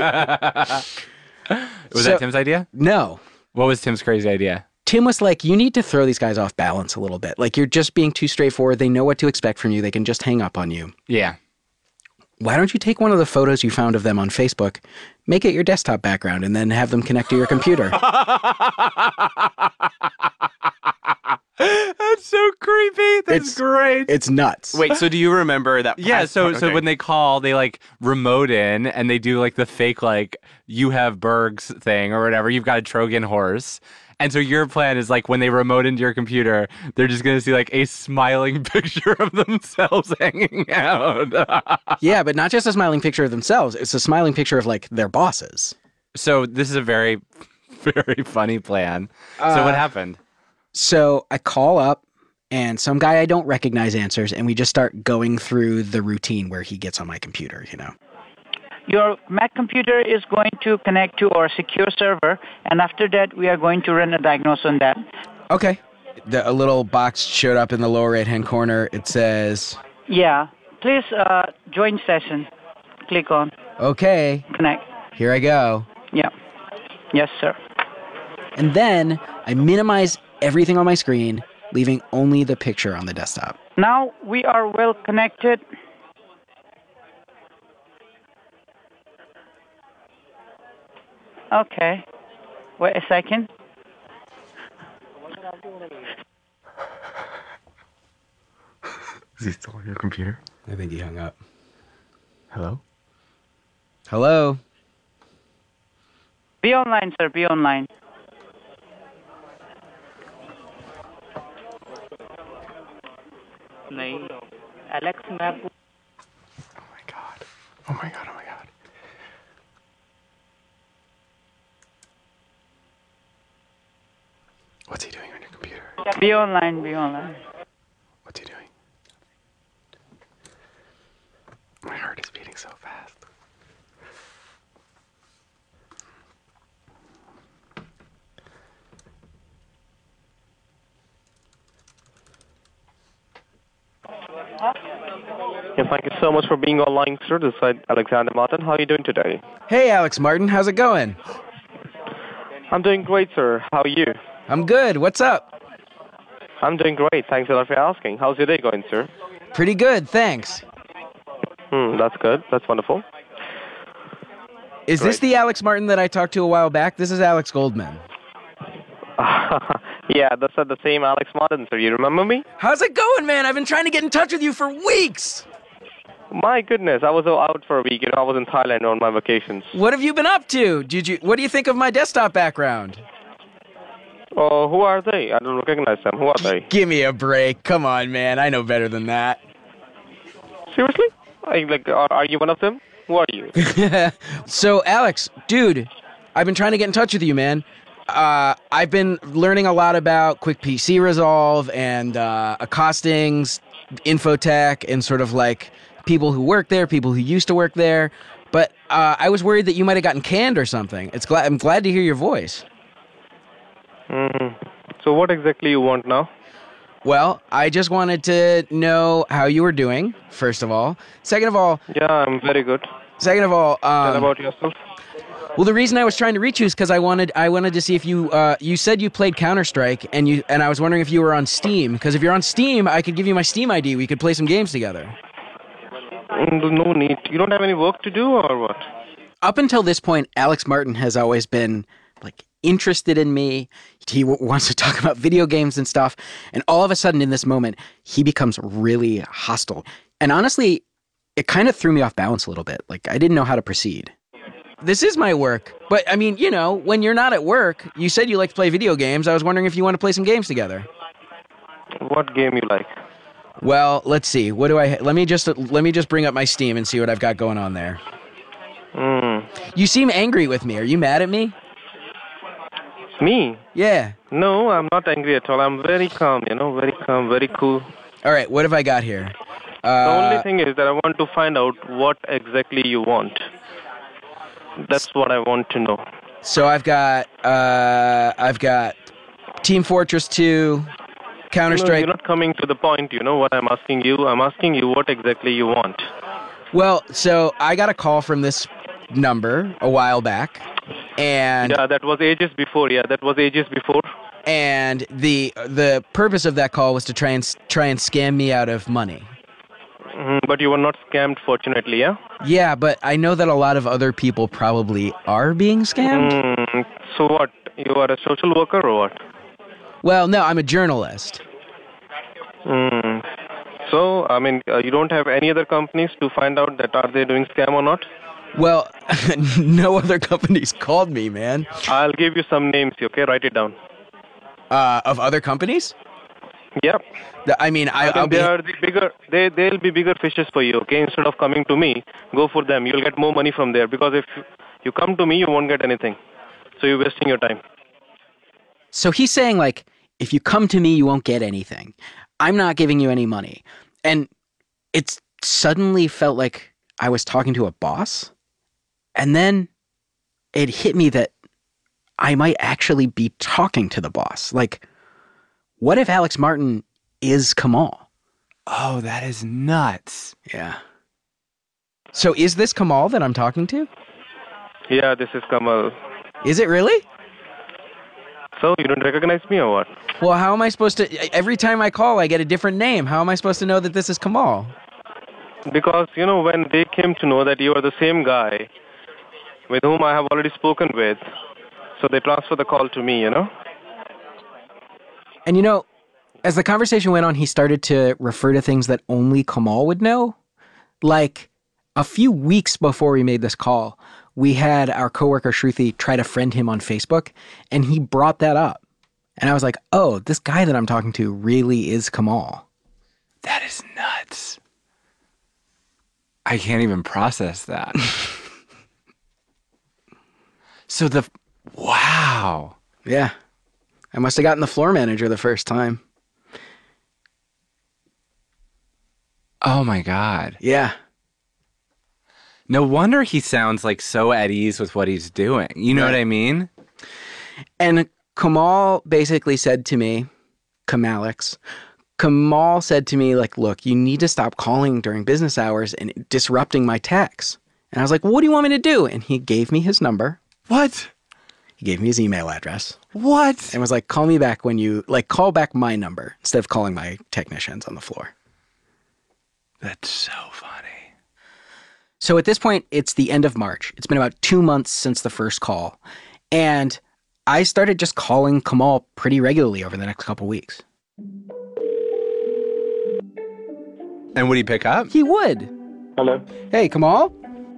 Was that Tim's idea? No. What was Tim's crazy idea? Tim was like, you need to throw these guys off balance a little bit. Like, you're just being too straightforward. They know what to expect from you. They can just hang up on you. Yeah. Why don't you take one of the photos you found of them on Facebook, make it your desktop background, and then have them connect to your computer? That's so creepy. That's great. It's nuts. Wait, so do you remember that? Yeah, so when they call, they like remote in and they do like the fake like you have Berg's thing or whatever. You've got a Trojan horse. And so your plan is like when they remote into your computer, they're just going to see like a smiling picture of themselves hanging out. Yeah, but not just a smiling picture of themselves. It's a smiling picture of like their bosses. So this is a very, very funny plan. So what happened? So I call up and some guy I don't recognize answers, and we just start going through the routine where he gets on my computer, you know. Your Mac computer is going to connect to our secure server, and after that, we are going to run a diagnosis on that. Okay. A little box showed up in the lower right-hand corner. It says... Yeah. Please join session. Click on. Okay. Connect. Here I go. Yeah. Yes, sir. And then I minimize everything on my screen, leaving only the picture on the desktop. Now we are well connected. Okay. Wait a second. Is he still on your computer? I think he hung up. Hello? Hello? Be online, sir. Be online. Alex Map. Oh my god. Oh my god. Oh my god. What's he doing on your computer? Be online. Be online. What's he doing? My heart is beating so fast. Yeah, thank you so much for being online, sir. This is Alexander Martin. How are you doing today? Hey, Alex Martin. How's it going? I'm doing great, sir. How are you? I'm good. What's up? I'm doing great. Thanks a lot for asking. How's your day going, sir? Pretty good, thanks. That's good. That's wonderful. Is this the Alex Martin that I talked to a while back? This is Alex Goldman. Yeah, that's the same Alex Martin, sir. You remember me? How's it going, man? I've been trying to get in touch with you for weeks. My goodness, I was out for a week. I was in Thailand on my vacations. What have you been up to? What do you think of my desktop background? Oh, who are they? I don't recognize them. Who are they? Give me a break. Come on, man. I know better than that. Seriously? Are you one of them? Who are you? So, Alex, dude, I've been trying to get in touch with you, man. I've been learning a lot about Quick PC Resolve and accostings, infotech, and sort of like people who work there, people who used to work there. but I was worried that you might have gotten canned or something. I'm glad to hear your voice. So what exactly you want now? Well, I just wanted to know how you were doing, first of all. Second of all... Yeah, I'm very good. Second of all... Tell about yourself. Well, the reason I was trying to reach you is because I wanted to see if you you said you played Counter-Strike, and I was wondering if you were on Steam, because if you're on Steam, I could give you my Steam ID. We could play some games together. No need. You don't have any work to do, or what? Up until this point, Alex Martin has always been, like, interested in me. He wants to talk about video games and stuff. And all of a sudden in this moment, he becomes really hostile. And honestly, it kind of threw me off balance a little bit. Like, I didn't know how to proceed. This is my work. But, I mean, you know, when you're not at work, you said you like to play video games. I was wondering if you want to play some games together. What game you like? Well, let's see. What do I... Let me just bring up my Steam and see what I've got going on there. You seem angry with me. Are you mad at me? Me? Yeah. No, I'm not angry at all. I'm very calm, very calm, very cool. All right, what have I got here? The only thing is that I want to find out what exactly you want. That's what I want to know. So I've got Team Fortress 2, Counter-Strike. No, you're not coming to the point, what I'm asking you. I'm asking you what exactly you want. Well, so I got a call from this number a while back. And yeah, that was ages before. And the purpose of that call was to try and scam me out of money. But you were not scammed, fortunately, yeah? Yeah, but I know that a lot of other people probably are being scammed. So what? You are a social worker or what? Well, no, I'm a journalist. So, I mean, you don't have any other companies to find out that are they doing scam or not? Well, no other companies called me, man. I'll give you some names, okay? Write it down. Of other companies? Yep. I mean, I'll they are the bigger. They'll be bigger fishes for you, okay? Instead of coming to me, go for them. You'll get more money from there. Because if you come to me, you won't get anything. So you're wasting your time. So he's saying, like, if you come to me, you won't get anything. I'm not giving you any money. And it suddenly felt like I was talking to a boss. And then it hit me that I might actually be talking to the boss. Like, what if Alex Martin is Kamal? Oh, that is nuts. Yeah. So is this Kamal that I'm talking to? Yeah, this is Kamal. Is it really? So, you don't recognize me or what? Well, how am I supposed to... Every time I call, I get a different name. How am I supposed to know that this is Kamal? Because, when they came to know that you are the same guy with whom I have already spoken with, so they transferred the call to me, And as the conversation went on, he started to refer to things that only Kamal would know. Like, a few weeks before we made this call, we had our coworker Shruti try to friend him on Facebook, and he brought that up. And I was like, oh, this guy that I'm talking to really is Kamal. That is nuts. I can't even process that. Wow. Yeah. I must have gotten the floor manager the first time. Oh my God. Yeah. No wonder he sounds like so at ease with what he's doing. You know what I mean? And Kamal basically said to me, Kamal said to me, like, look, you need to stop calling during business hours and disrupting my texts. And I was like, well, what do you want me to do? And he gave me his number. What? He gave me his email address. What? And was like, call me back when you, like, call back my number instead of calling my technicians on the floor. That's so funny. So at this point, it's the end of March. It's been about 2 months since the first call. And I started just calling Kamal pretty regularly over the next couple weeks. And would he pick up? He would. Hello. Hey, Kamal?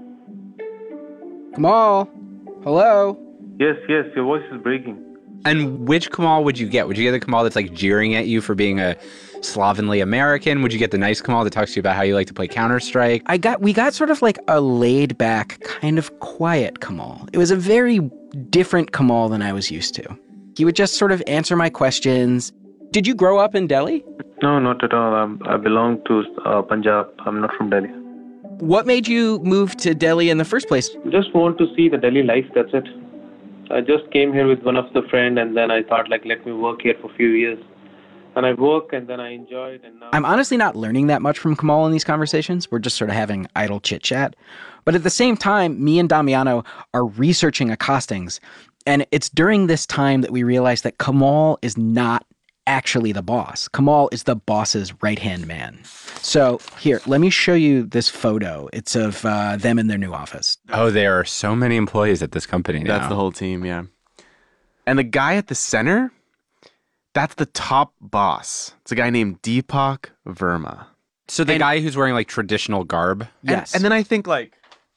Kamal? Hello? Yes, your voice is breaking. And which Kamal would you get? Would you get the Kamal that's like jeering at you for being a slovenly American? Would you get the nice Kamal that talks to you about how you like to play Counter-Strike? We got sort of like a laid back, kind of quiet Kamal. It was a very different Kamal than I was used to. He would just sort of answer my questions. Did you grow up in Delhi? No, not at all. I belong to Punjab. I'm not from Delhi. What made you move to Delhi in the first place? Just want to see the Delhi life, that's it. I just came here with one of the friend, and then I thought, like, let me work here for a few years. And I work, and then I enjoyed, and now... I'm honestly not learning that much from Kamal in these conversations. We're just sort of having idle chit-chat. But at the same time, me and Damiano are researching accostings. And it's during this time that we realize that Kamal is not actually the boss. Kamal is the boss's right-hand man. So here, let me show you this photo. It's of them in their new office. Oh, there are so many employees at this company now. That's the whole team, yeah. And the guy at the center, that's the top boss. It's a guy named Deepak Verma. So the guy who's wearing like traditional garb? Yes. And then I think like,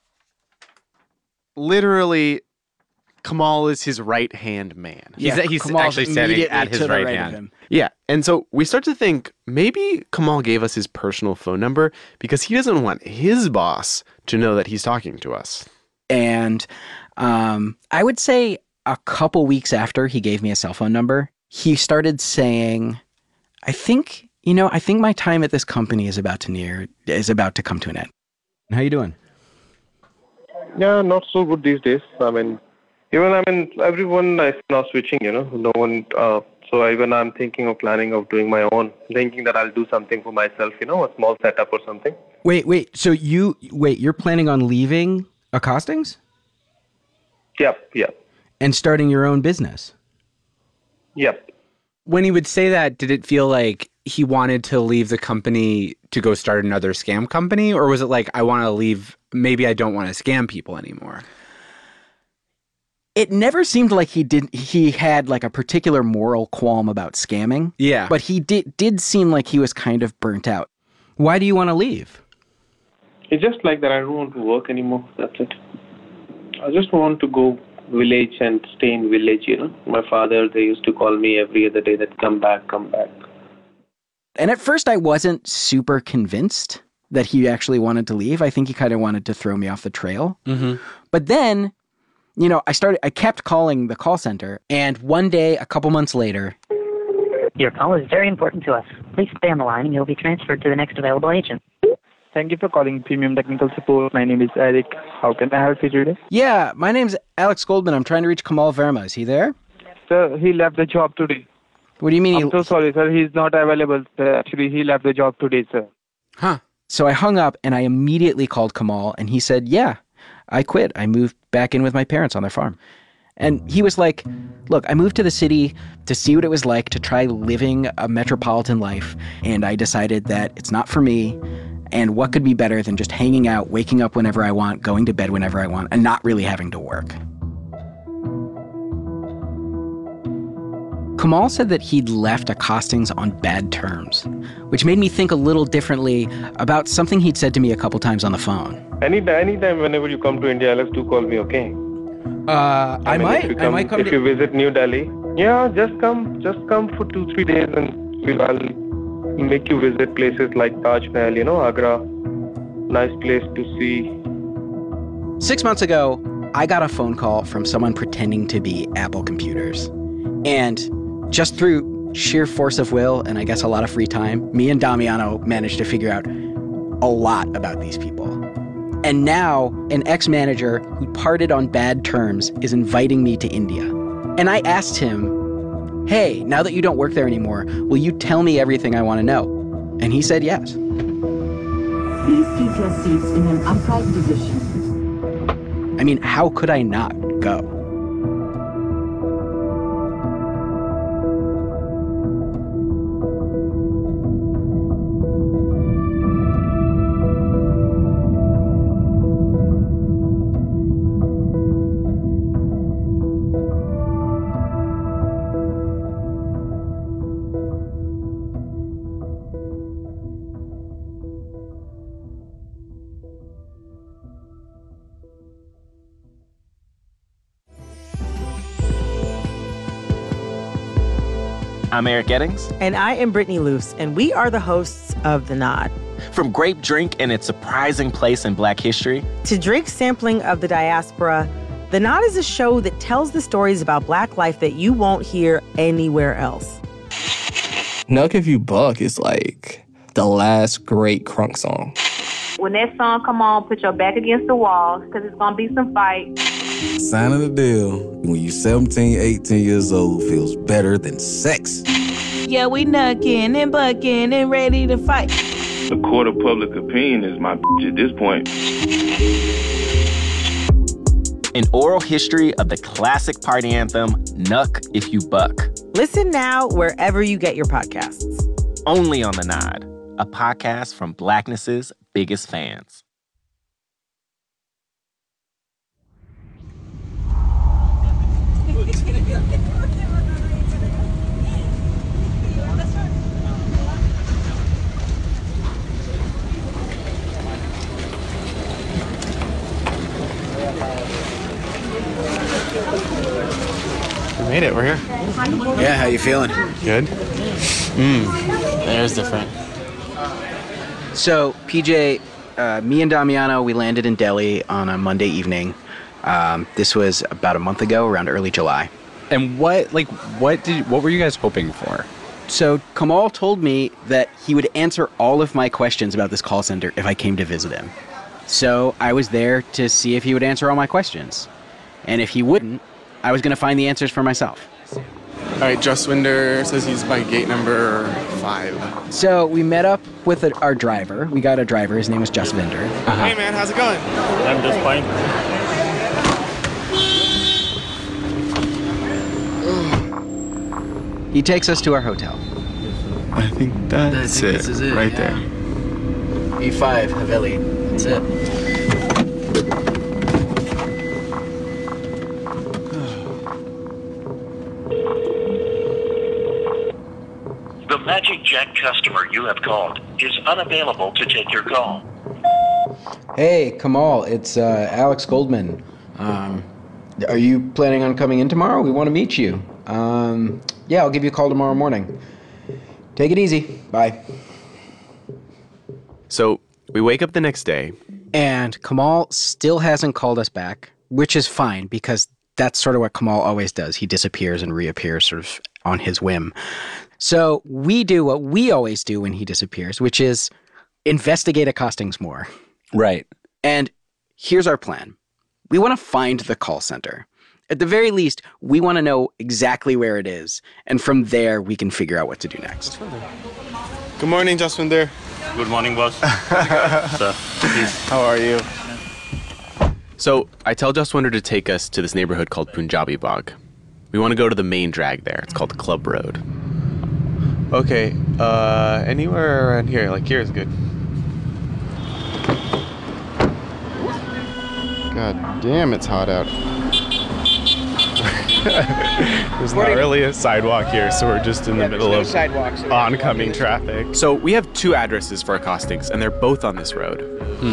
literally, Kamal is his right-hand man. He's actually standing at his right hand. Yeah. And so we start to think maybe Kamal gave us his personal phone number because he doesn't want his boss to know that he's talking to us. And I would say a couple weeks after he gave me a cell phone number, he started saying, I think my time at this company is about to come to an end. How you doing? Yeah, not so good these days. Everyone is now switching, no one, so even I'm thinking of planning of doing my own, thinking that I'll do something for myself, a small setup or something. Wait, so you're planning on leaving Accostings? Yep. And starting your own business? Yep. When he would say that, did it feel like he wanted to leave the company to go start another scam company? Or was it like, I want to leave, maybe I don't want to scam people anymore? It never seemed like he had like a particular moral qualm about scamming. Yeah. But he did seem like he was kind of burnt out. Why do you want to leave? It's just like that I don't want to work anymore. That's it. I just want to go village and stay in village, My father, they used to call me every other day that come back. And at first I wasn't super convinced that he actually wanted to leave. I think he kind of wanted to throw me off the trail. Mm-hmm. But then, I kept calling the call center, and one day, a couple months later... Your call is very important to us. Please stay on the line and you'll be transferred to the next available agent. Thank you for calling Premium Technical Support. My name is Eric. How can I help you today? Yeah, my name's Alex Goldman. I'm trying to reach Kamal Verma. Is he there? Sir, he left the job today. What do you mean? I'm so sorry, sir. He's not available. Actually, he left the job today, sir. Huh. So I hung up and I immediately called Kamal and he said, yeah, I quit. I moved back in with my parents on their farm. And he was like, look, I moved to the city to see what it was like to try living a metropolitan life. And I decided that it's not for me. And what could be better than just hanging out, waking up whenever I want, going to bed whenever I want, and not really having to work? Kamal said that he'd left Accostings on bad terms, which made me think a little differently about something he'd said to me a couple times on the phone. Anytime whenever you come to India, Alex, do call me, okay? I might come if you visit New Delhi. Yeah, just come for 2-3 days and I'll make you visit places like Taj Mahal, Agra. Nice place to see. 6 months ago, I got a phone call from someone pretending to be Apple Computers. And just through sheer force of will and I guess a lot of free time, me and Damiano managed to figure out a lot about these people. And now, an ex-manager who parted on bad terms is inviting me to India. And I asked him, hey, now that you don't work there anymore, will you tell me everything I want to know? And he said yes. Please keep your seats in an upright position. I mean, how could I not go? I'm Eric Eddings. And I am Brittany Luce, and we are the hosts of The Nod. From Grape Drink and its surprising place in Black history, to Drake's sampling of the diaspora, The Nod is a show that tells the stories about Black life that you won't hear anywhere else. Nuck If You Buck is like the last great crunk song. when that song come on, put your back against the wall, because it's going to be some fight. Signing the deal when you're 17, 18 years old feels better than sex. Yeah, we knucking and bucking and ready to fight. The court of public opinion is my bitch at this point. An oral history of the classic party anthem, Knuck If You Buck. Listen now wherever you get your podcasts. Only on The Nod, a podcast from Blackness's biggest fans. We made it. We're here. Yeah, how you feeling? Good. There's different. So, PJ, me and Damiano, we landed in Delhi on a Monday evening. This was about a month ago, around early July. And what were you guys hoping for? So Kamal told me that he would answer all of my questions about this call center if I came to visit him. So I was there to see if he would answer all my questions. And if he wouldn't, I was going to find the answers for myself. All right, Jaswinder says he's by gate number 5. So we met up with our driver. We got a driver. His name was Jaswinder. Hey, man, how's it going? I'm just fine. He takes us to our hotel. I think that's it. This is it right yeah. there. E5, Haveli. That's it. The Magic Jack customer you have called is unavailable to take your call. Hey, Kamal, it's Alex Goldman. Are you planning on coming in tomorrow? We want to meet you. Yeah, I'll give you a call tomorrow morning. Take it easy. Bye. So we wake up the next day. And Kamal still hasn't called us back, which is fine because that's sort of what Kamal always does. He disappears and reappears sort of on his whim. So we do what we always do when he disappears, which is investigate accostings more. Right. And here's our plan. We want to find the call center. At the very least, we want to know exactly where it is. And from there, we can figure out what to do next. Good morning, Jaswinder. Good morning, boss. Sir, please. How are you? So I tell Jaswinder to take us to this neighborhood called Punjabi Bagh. We want to go to the main drag there. It's called Club Road. Okay, anywhere around here, like here is good. God damn, it's hot out. There's not really a sidewalk here, so we're just in the middle of oncoming traffic. So we have 2 addresses for accostings, and they're both on this road.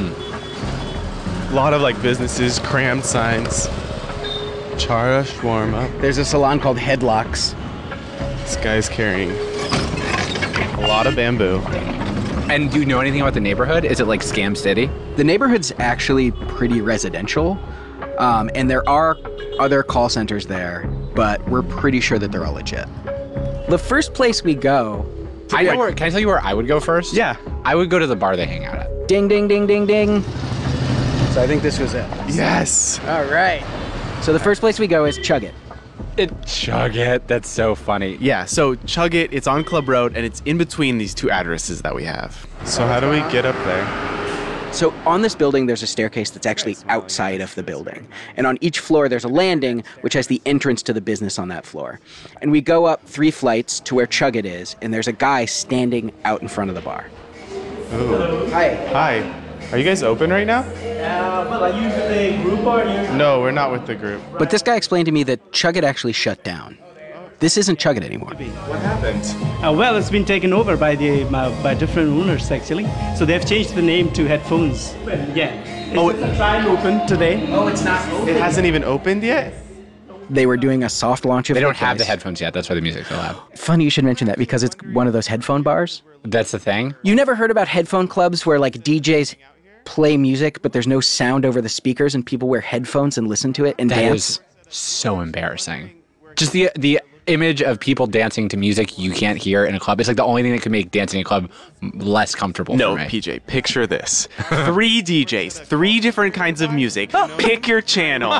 A lot of like businesses, crammed signs. Chara Shawarma. There's a salon called Headlocks. This guy's carrying a lot of bamboo. And do you know anything about the neighborhood? Is it like Scam City? The neighborhood's actually pretty residential, and there are other call centers there, but we're pretty sure that they're all legit. The first place we go... Can I tell you where I would go first? Yeah. I would go to the bar they hang out at. Ding, ding, ding, ding, ding. So I think this was it. Yes. All right. So the first place we go is Chug It. Chug It. That's so funny. Yeah, so Chug It, it's on Club Road, and it's in between these 2 addresses that we have. So how do we get up there? So on this building, there's a staircase that's actually outside of the building. And on each floor, there's a landing, which has the entrance to the business on that floor. And we go up 3 flights to where Chug It is, and there's a guy standing out in front of the bar. Ooh. Hi. Hi. Are you guys open right now? Well, are you with the group or you? No, we're not with the group. But this guy explained to me that Chug It actually shut down. This isn't Chug It anymore. What happened? Well, it's been taken over by by different owners actually. So they've changed the name to Headphones. Yeah. It's trial open today. Oh, it's not open. It hasn't even opened yet? They were doing a soft launch of They their don't have the place. headphones yet. That's why the music's so loud. Funny you should mention that because it's one of those headphone bars. That's the thing? You never heard about headphone clubs where like DJs play music but there's no sound over the speakers and people wear headphones and listen to it and That dance? is so embarrassing. Just the image of people dancing to music you can't hear in a club. It's like the only thing that could make dancing in a club less comfortable No, for me. PJ, picture this. 3 DJs, 3 different kinds of music. Pick your channel.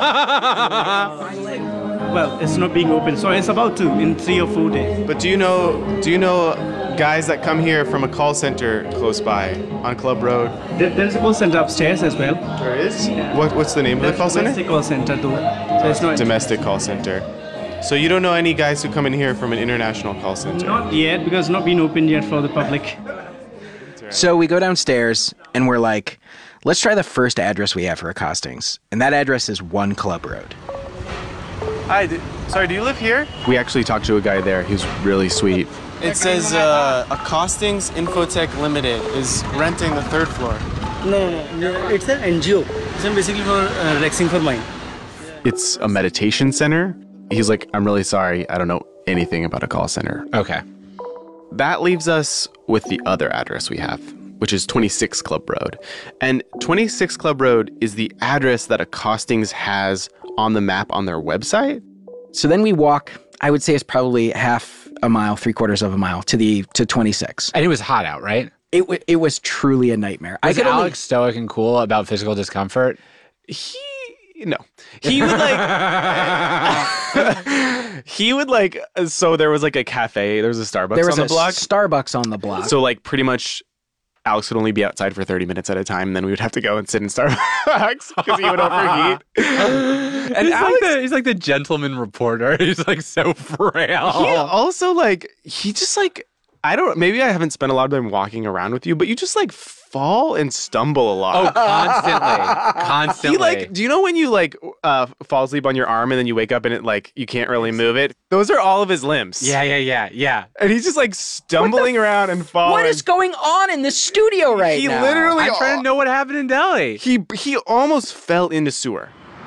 Well, it's not being open, so it's about to in 3 or 4 days. But do you know guys that come here from a call center close by on Club Road? There's a call center upstairs as well. There is? What's the name of the call center? Domestic call center, though. So it's not Domestic call center. So you don't know any guys who come in here from an international call center? Not yet, because it's not been opened yet for the public. So we go downstairs and we're like, let's try the first address we have for accostings. And that address is 1 Club Road. Hi, sorry, do you live here? We actually talked to a guy there. He's really sweet. It says Accostings Infotech Limited is renting the 3rd floor. No. It's an NGO. It's basically for Rexing for Mind. It's a meditation center. He's like, I'm really sorry. I don't know anything about a call center. Okay. That leaves us with the other address we have, which is 26 Club Road. And 26 Club Road is the address that Accostings has on the map on their website. So then we walk, I would say it's probably half a mile, 3/4 of a mile to 26. And it was hot out, right? It was truly a nightmare. Was Alex stoic and cool about physical discomfort? No. He would like, so there was like a cafe, there was a Starbucks on the block. Starbucks on the block. So like pretty much Alex would only be outside for 30 minutes at a time, and then we would have to go and sit in Starbucks because he would overheat. And he's like the gentleman reporter. He's like so frail. He also maybe I haven't spent a lot of time walking around with you, but you just like fall and stumble a lot. Oh, constantly. Do you know when you fall asleep on your arm and then you wake up and it you can't really move it? Those are all of his limbs. Yeah. And he's just like stumbling around and falling. What is going on in the studio right now? He literally. I'm trying to know what happened in Delhi. He almost fell into sewer.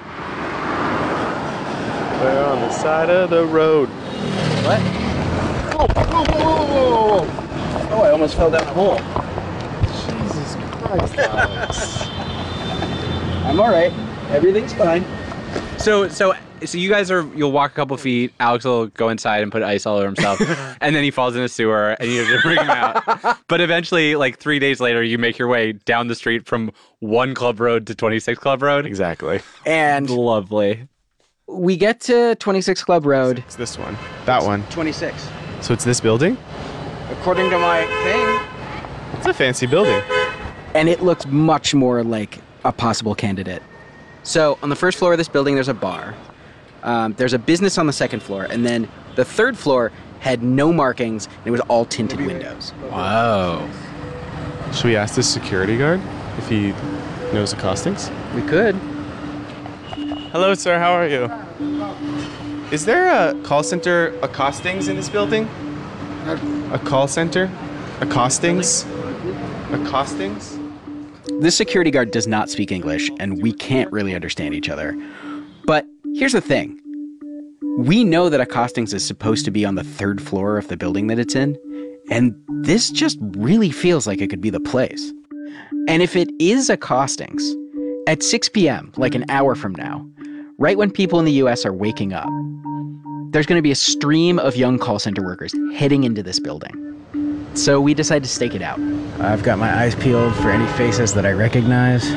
We're on the side of the road. What? Whoa. Oh, I almost fell down a hole. Jesus Christ, Alex. I'm all right. Everything's fine. So you guys you'll walk a couple feet. Alex will go inside and put ice all over himself. And then he falls in a sewer and you have to bring him out. But eventually, 3 days later, you make your way down the street from 1 Club Road to 26 Club Road. Exactly. And lovely. We get to 26 Club Road. It's this one. That one. 26. So it's this building? According to my thing. It's a fancy building. And it looks much more like a possible candidate. So on the first floor of this building, there's a bar. There's a business on the 2nd floor. And then the 3rd floor had no markings. And it was all tinted windows. Wow. Should we ask this security guard if he knows accostings? We could. Hello, sir. How are you? Is there a call center accostings in this building? A call center? Accostings? Accostings? This security guard does not speak English, and we can't really understand each other. But here's the thing. We know that accostings is supposed to be on the 3rd floor of the building that it's in, and this just really feels like it could be the place. And if it is accostings, at 6 p.m., like an hour from now, right when people in the U.S. are waking up, there's going to be a stream of young call center workers heading into this building. So we decide to stake it out. I've got my eyes peeled for any faces that I recognize.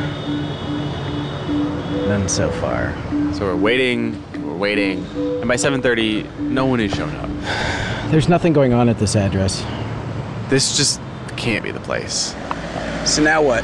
None so far. So we're waiting, and by 7:30, no one has shown up. There's nothing going on at this address. This just can't be the place. So now what?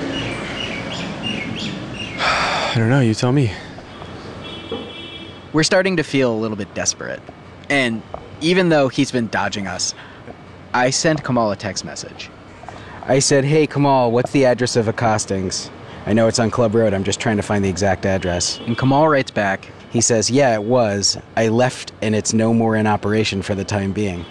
I don't know, you tell me. We're starting to feel a little bit desperate. And even though he's been dodging us, I sent Kamal a text message. I said, hey, Kamal, what's the address of accostings? I know it's on Club Road. I'm just trying to find the exact address. And Kamal writes back. He says, yeah, it was. I left and it's no more in operation for the time being.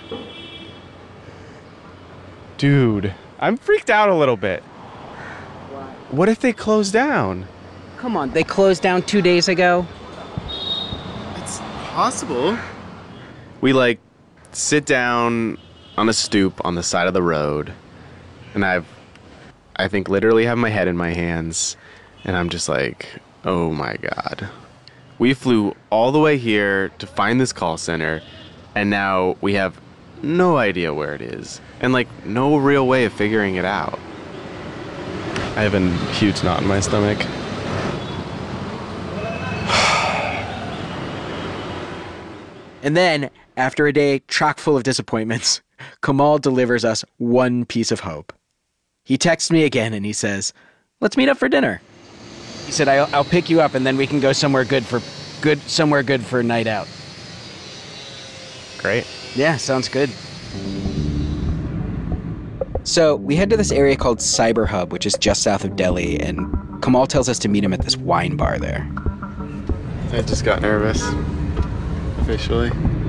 Dude, I'm freaked out a little bit. What if they close down? Come on, they closed down 2 days ago? It's possible. We sit down on a stoop on the side of the road, and I think literally have my head in my hands, and I'm just like, oh my God. We flew all the way here to find this call center, And now we have no idea where it is. And, like, no real way of figuring it out. I have a huge knot in my stomach. And then, after a day chock full of disappointments, Kamal delivers us one piece of hope. He texts me again and he says, "Let's meet up for dinner." He said, I'll pick you up and then we can go somewhere good for a night out. Great. Yeah, sounds good. So we head to this area called Cyber Hub, which is just south of Delhi, and Kamal tells us to meet him at this wine bar there. I just got nervous. Officially.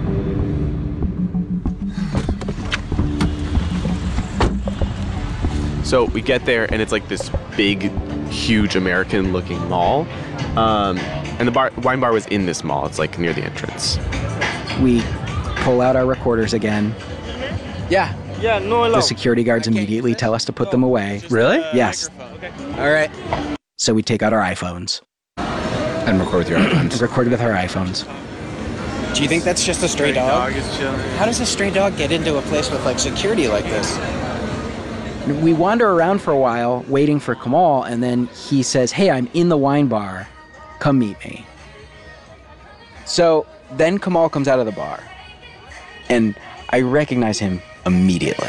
So we get there and it's like this big, huge American-looking mall. And the wine bar was in this mall. It's like near the entrance. We pull out our recorders again. Yeah. Yeah, no allowed. The security guards immediately tell us to put them away. Really? Yes. All right. So we take out our iPhones. And record with your iPhones. Record with our iPhones. Do you think that's just a stray dog? How does a stray dog get into a place with like security like this? We wander around for a while waiting for Kamal, and then he says, "Hey, I'm in the wine bar. Come meet me." So then Kamal comes out of the bar, and I recognize him immediately.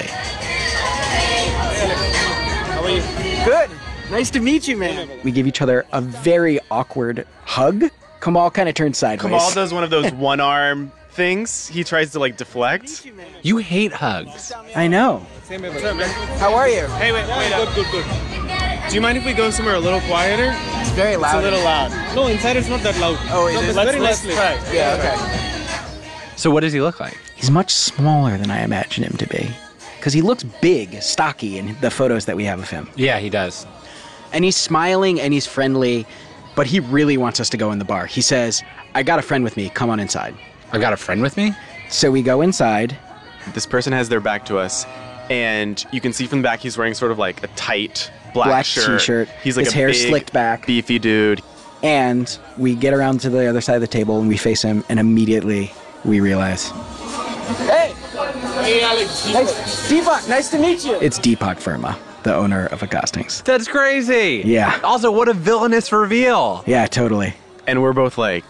How are you? Good. Nice to meet you, man. We give each other a very awkward hug. Kamal kind of turns sideways. Kamal does one of those one-arm things. He tries to, like, deflect. You hate hugs. I know. How are you? Hey, wait. Good. Do you mind if we go somewhere a little quieter? It's very loud. It's a little loud. No, inside it's not that loud. Oh, is it? Let's try. Yeah, okay. So what does he look like? He's much smaller than I imagine him to be. Because he looks big, stocky in the photos that we have of him. Yeah, he does. And he's smiling and he's friendly, but he really wants us to go in the bar. He says, "I got a friend with me. Come on inside." I got a friend with me? So we go inside. This person has their back to us, and you can see from the back he's wearing sort of like a tight black shirt. T-shirt. He's like his a hair big, slicked back. beefy dude. And we get around to the other side of the table and we face him, and immediately we realize Hey! Hey, Alex. Deepak, nice to meet you. it's Deepak Verma, the owner of Accostings. That's crazy. Yeah. Also, what a villainous reveal. Yeah, totally. And we're both like,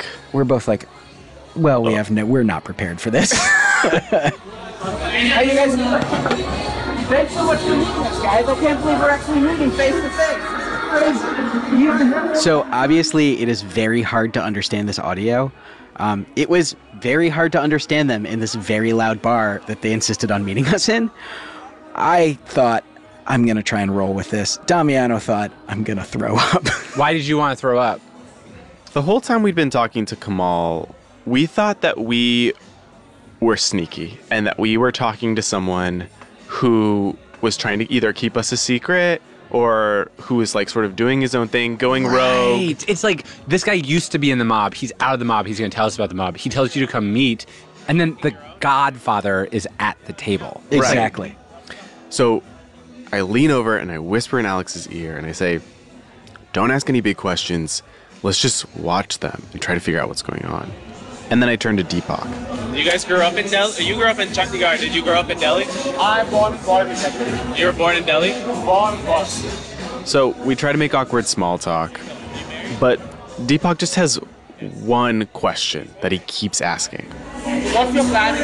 well, we're not prepared for this. How you guys doing? Thanks so much for meeting us, guys. I can't believe we're actually meeting face to face. Crazy. So obviously it is very hard to understand this audio. It was very hard to understand them in this very loud bar that they insisted on meeting us in. I thought, I'm going to try and roll with this. Damiano thought, I'm going to throw up. Why did you want to throw up? the whole time we'd been talking to Kamal, we thought that we were sneaky and that we were talking to someone who was trying to either keep us a secret or who was like sort of doing his own thing, going rogue. It's like this guy used to be in the mob. He's out of the mob. He's going to tell us about the mob. He tells you to come meet. And then the Godfather is at the table. Exactly. Right. So I lean over and I whisper in Alex's ear and I say, don't ask any big questions. Let's just watch them and try to figure out what's going on. And then I turn to Deepak. You guys grew up in Delhi? You grew up in Chandigarh. Did you grow up in Delhi? I'm born in Delhi. You were born in Delhi? Born. So we try to make awkward small talk, but Deepak just has one question that he keeps asking. What's your plan?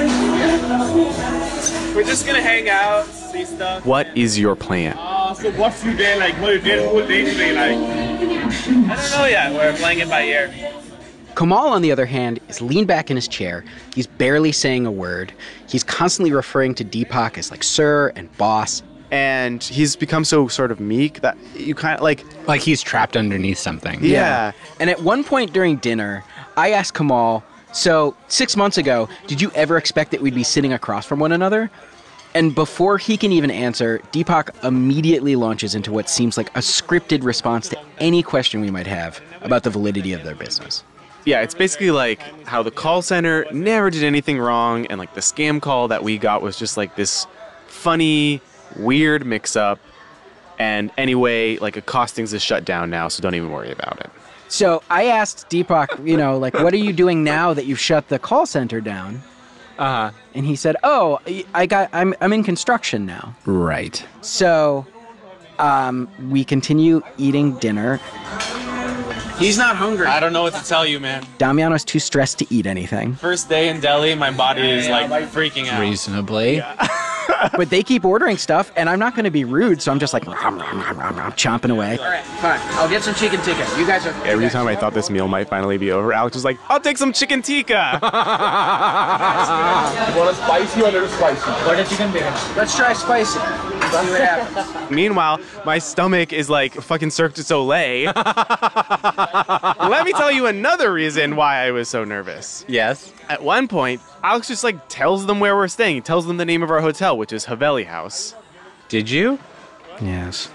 We're just gonna hang out, see stuff. What is your plan? So what's your day like? What your day whole day today like? I don't know yet. We're playing it by ear. Kamal, on the other hand, is leaned back in his chair. He's barely saying a word. He's constantly referring to Deepak as like sir and boss. And he's become so sort of meek that you kind of like he's trapped underneath something. Yeah. And at one point during dinner, I asked Kamal, so 6 months ago, did you ever expect that we'd be sitting across from one another? And before he can even answer, Deepak immediately launches into what seems like a scripted response to any question we might have about the validity of their business. Yeah, it's basically like how the call center never did anything wrong, and like the scam call that we got was just like this funny, weird mix-up. And anyway, like Accostings is shut down now, so don't even worry about it. So I asked Deepak, like, what are you doing now that you've shut the call center down? Uh-huh. And he said, "Oh, I'm in construction now." Right. So, we continue eating dinner. He's not hungry. I don't know what to tell you, man. Damiano's too stressed to eat anything. First day in Delhi, my body is like freaking out. Reasonably. But they keep ordering stuff, and I'm not going to be rude, so I'm just like chomping away. All right, fine. I'll get some chicken tikka. You guys are... Every time I thought this meal might finally be over, Alex was like, I'll take some chicken tikka. You want a spicy or a little spicy? Butter chicken bacon. Let's try spicy. See what happens. Meanwhile, my stomach is like fucking Cirque du Soleil. Let me tell you another reason why I was so nervous. Yes. At one point, Alex just like tells them where we're staying. He tells them the name of our hotel, which is Haveli House. Did you? Yes.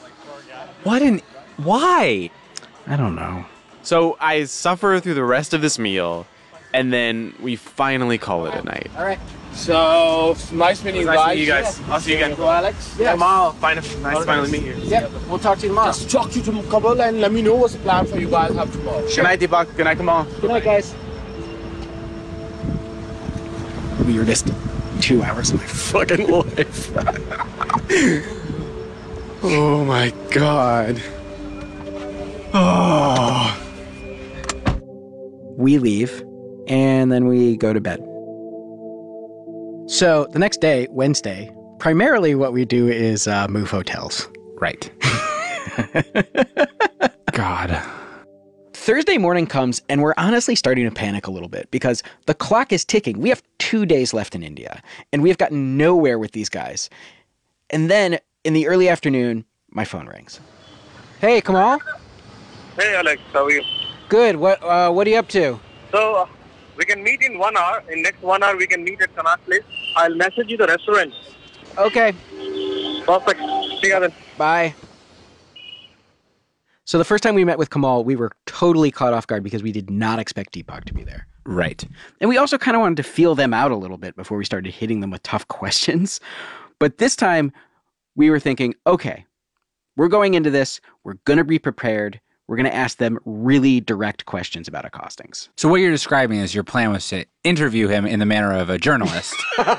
Why? I don't know. So I suffer through the rest of this meal, and then we finally call it a night. All right. So, nice meeting you guys. Nice meeting you guys. I'll see you again. Alex. Yeah. Kamal, nice to finally meet you. Yep. We'll talk to you tomorrow. Just talk to you tomorrow and let me know what's the plan for you guys have tomorrow. Good night, Deepak. Good night, Kamal. Good night, guys. Weirdest 2 hours of my fucking life. Oh my god. Oh. We leave, and then we go to bed. So the next day, Wednesday, primarily what we do is move hotels. Right. God. Thursday morning comes, and we're honestly starting to panic a little bit because the clock is ticking. We have 2 days left in India, and we have gotten nowhere with these guys. And then in the early afternoon, my phone rings. Hey, Kamal? Hey, Alex. How are you? Good. What are you up to? So, we can meet in 1 hour. In next 1 hour, we can meet at Sanat Place. I'll message you the restaurant. Okay. Perfect. See you then. Bye. So the first time we met with Kamal, we were totally caught off guard because we did not expect Deepak to be there. Right. And we also kind of wanted to feel them out a little bit before we started hitting them with tough questions. But this time, we were thinking, okay, we're going into this. We're going to be prepared. We're going to ask them really direct questions about accostings. So what you're describing is your plan was to interview him in the manner of a journalist.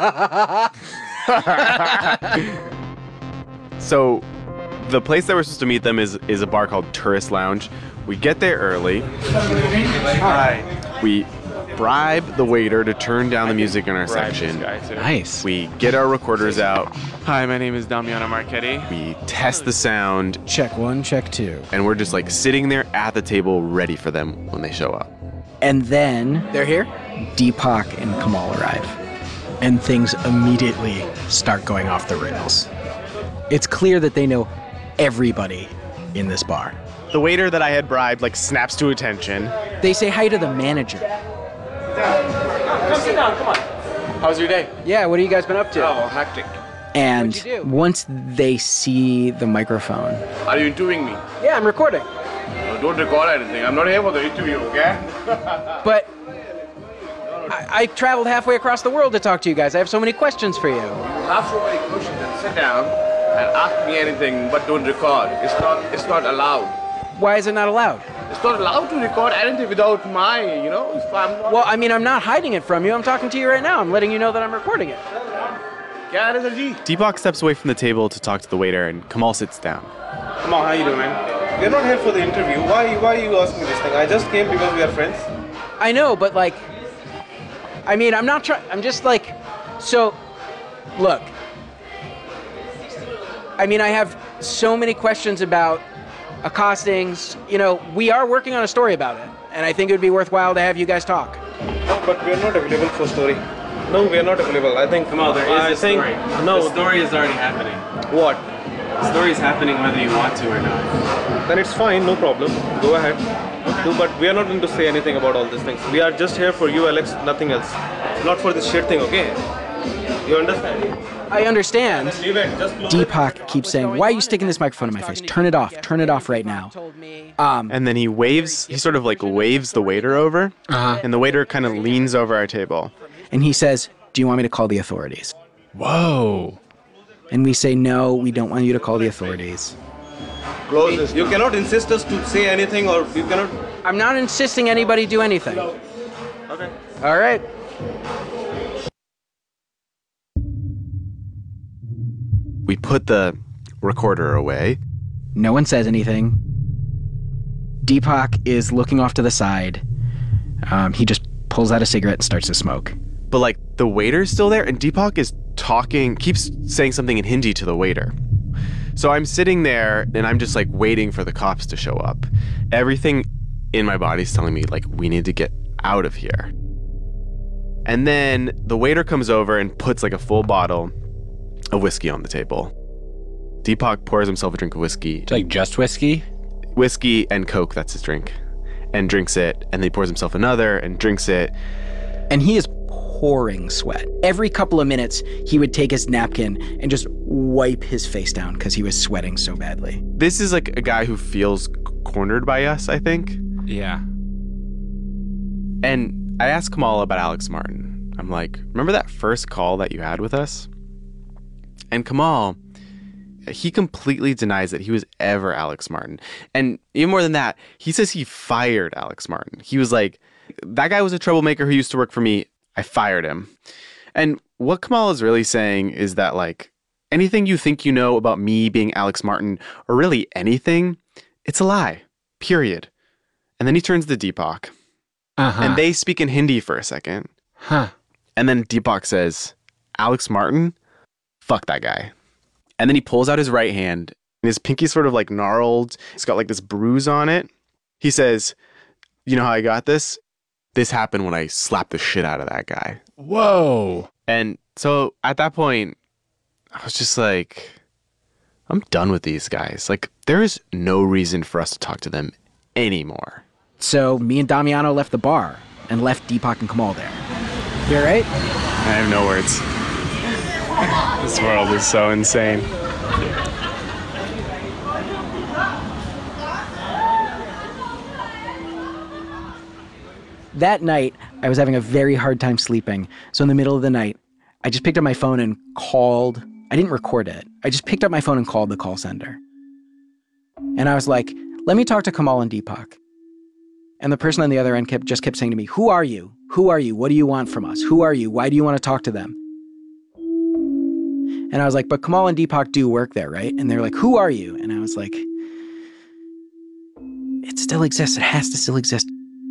So the place that we're supposed to meet them is a bar called Tourist Lounge. We get there early. Hi. We bribe the waiter to turn down the music in our section. Nice. We get our recorders out. Hi, my name is Damiano Marchetti. We test the sound. Check 1, check 2. And we're just like sitting there at the table ready for them when they show up. And then They're here? Deepak and Kamal arrive. And things immediately start going off the rails. It's clear that they know everybody in this bar. The waiter that I had bribed like snaps to attention. They say hi to the manager. Come sit down, come on. How's your day? Yeah, what have you guys been up to? Oh, hectic. And once they see the microphone. Are you interviewing me? Yeah, I'm recording. No, don't record anything. I'm not here for the interview, okay? But I traveled halfway across the world to talk to you guys. I have so many questions for you. You have so many questions. Then sit down and ask me anything, but don't record. It's not allowed. Why is it not allowed? It's not allowed to record anything without my, if I'm not... Well, I mean, I'm not hiding it from you. I'm talking to you right now. I'm letting you know that I'm recording it. Deepak steps away from the table to talk to the waiter, and Kamal sits down. Kamal, how you doing, man? We're not here for the interview. Why are you asking this thing? I just came because we are friends. I know, but I mean, I'm not trying. I'm just so, look. I mean, I have so many questions about accostings. We are working on a story about it, and I think it would be worthwhile to have you guys talk. No, but we're not available for story. No, we're not available. I think. Come on, there is a story. No, the story is already happening. What? The story is happening whether you want to or not. Then it's fine, no problem. Go ahead. Okay. But we are not going to say anything about all these things. We are just here for you, Alex, nothing else. Not for this shit thing, okay? You understand? I understand. Leave it. Just Deepak keeps saying, why are you sticking this microphone in my face? Turn it off. Turn it off right now. And then he sort of waves the waiter over, and the waiter kind of leans over our table. And he says, do you want me to call the authorities? Whoa. And we say, no, we don't want you to call the authorities. Close this. You cannot insist us to say anything, or you cannot... I'm not insisting anybody do anything. Okay. All right. put the recorder away. No one says anything. Deepak is looking off to the side. He just pulls out a cigarette and starts to smoke. But like the waiter's still there, and Deepak is talking, keeps saying something in Hindi to the waiter. So I'm sitting there and I'm just like waiting for the cops to show up. Everything in my body's telling me like, we need to get out of here. And then the waiter comes over and puts like a full bottle of whiskey on the table. Deepak pours himself a drink of whiskey. Like just whiskey? Whiskey and Coke, that's his drink. And drinks it, and then he pours himself another and drinks it. And he is pouring sweat. Every couple of minutes, he would take his napkin and just wipe his face down because he was sweating so badly. This is like a guy who feels cornered by us, I think. Yeah. And I asked Kamal about Alex Martin. I'm like, remember that first call that you had with us? And Kamal, he completely denies that he was ever Alex Martin. And even more than that, he says he fired Alex Martin. He was like, that guy was a troublemaker who used to work for me. I fired him. And what Kamal is really saying is that, like, anything you think you know about me being Alex Martin, or really anything, it's a lie. Period. And then he turns to Deepak. And they speak in Hindi for a second. And then Deepak says, Alex Martin? Fuck that guy. And then he pulls out his right hand, and his pinky's sort of like gnarled. It's got like this bruise on it. He says, you know how I got this? This happened when I slapped the shit out of that guy. Whoa. And so at that point, I was just like, I'm done with these guys. Like, there is no reason for us to talk to them anymore. So me and Damiano left the bar and left Deepak and Kamal there. You all right? I have no words. This world is so insane. That night, I was having a very hard time sleeping. So in the middle of the night, I just picked up my phone and called. I didn't record it. I just picked up my phone and called the call center. And I was like, let me talk to Kamal and Deepak. And the person on the other end kept saying to me, who are you? Who are you? What do you want from us? Who are you? Why do you want to talk to them? And I was like, but Kamal and Deepak do work there, right? And they're like, who are you? And I was like, it still exists. It has to still exist.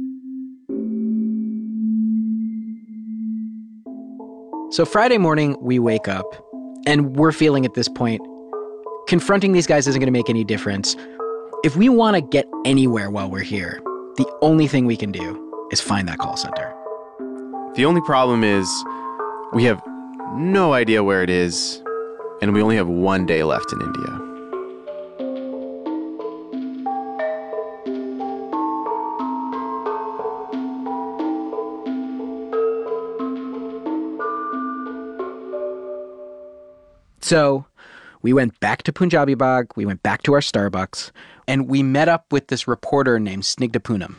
So Friday morning, we wake up, and we're feeling at this point, confronting these guys isn't going to make any difference. If we want to get anywhere while we're here, the only thing we can do is find that call center. The only problem is we have no idea where it is, and we only have one day left in India. So we went back to Punjabi Bagh, we went back to our Starbucks, and we met up with this reporter named Snigdha Poonam.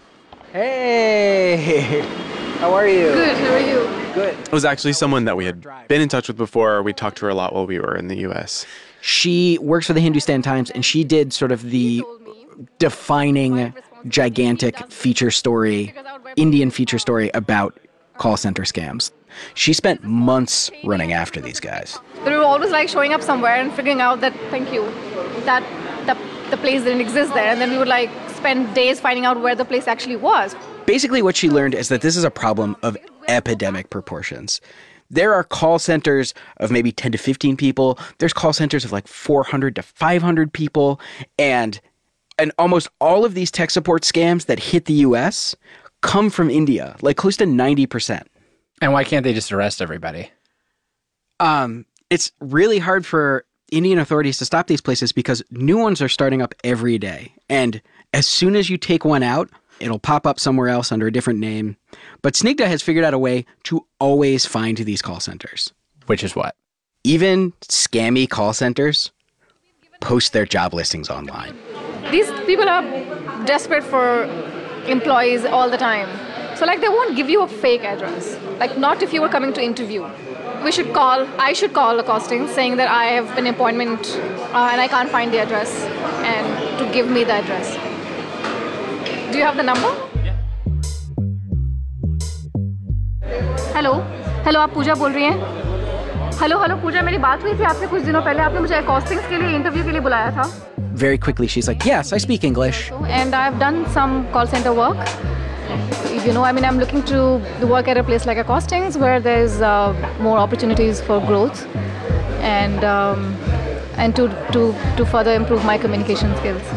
Hey! How are you? Good, how are you? Good. It was actually someone that we had been in touch with before. We talked to her a lot while we were in the U.S. She works for the Hindustan Times, and she did sort of the defining, gigantic feature story, Indian feature story about call center scams. She spent months running after these guys. They were always like showing up somewhere and figuring out that, thank you, that the place didn't exist there. And then we would like spend days finding out where the place actually was. Basically what she learned is that this is a problem of epidemic proportions. There are call centers of maybe 10 to 15 people. There's call centers of like 400 to 500 people. And almost all of these tech support scams that hit the US come from India, like close to 90%. And why can't they just arrest everybody? It's really hard for Indian authorities to stop these places because new ones are starting up every day. And as soon as you take one out, it'll pop up somewhere else under a different name. But Snigdha has figured out a way to always find these call centers. Which is what? Even scammy call centers post their job listings online. These people are desperate for employees all the time. So like they won't give you a fake address. Like not if you were coming to interview. I should call the costing saying that I have an appointment and I can't find the address and to give me the address. Do you have the number? Yeah. Hello, आप पूजा बोल रही हैं? Hello पूजा, मेरी बात हुई थी आपसे कुछ दिनों पहले. आपने मुझे कॉस्टिंग्स के लिए इंटरव्यू के लिए बुलाया था. Very quickly, she's like, yes, I speak English. And I've done some call center work. You know, I mean, I'm looking to work at a place like a costings where there's more opportunities for growth and to further improve my communication skills.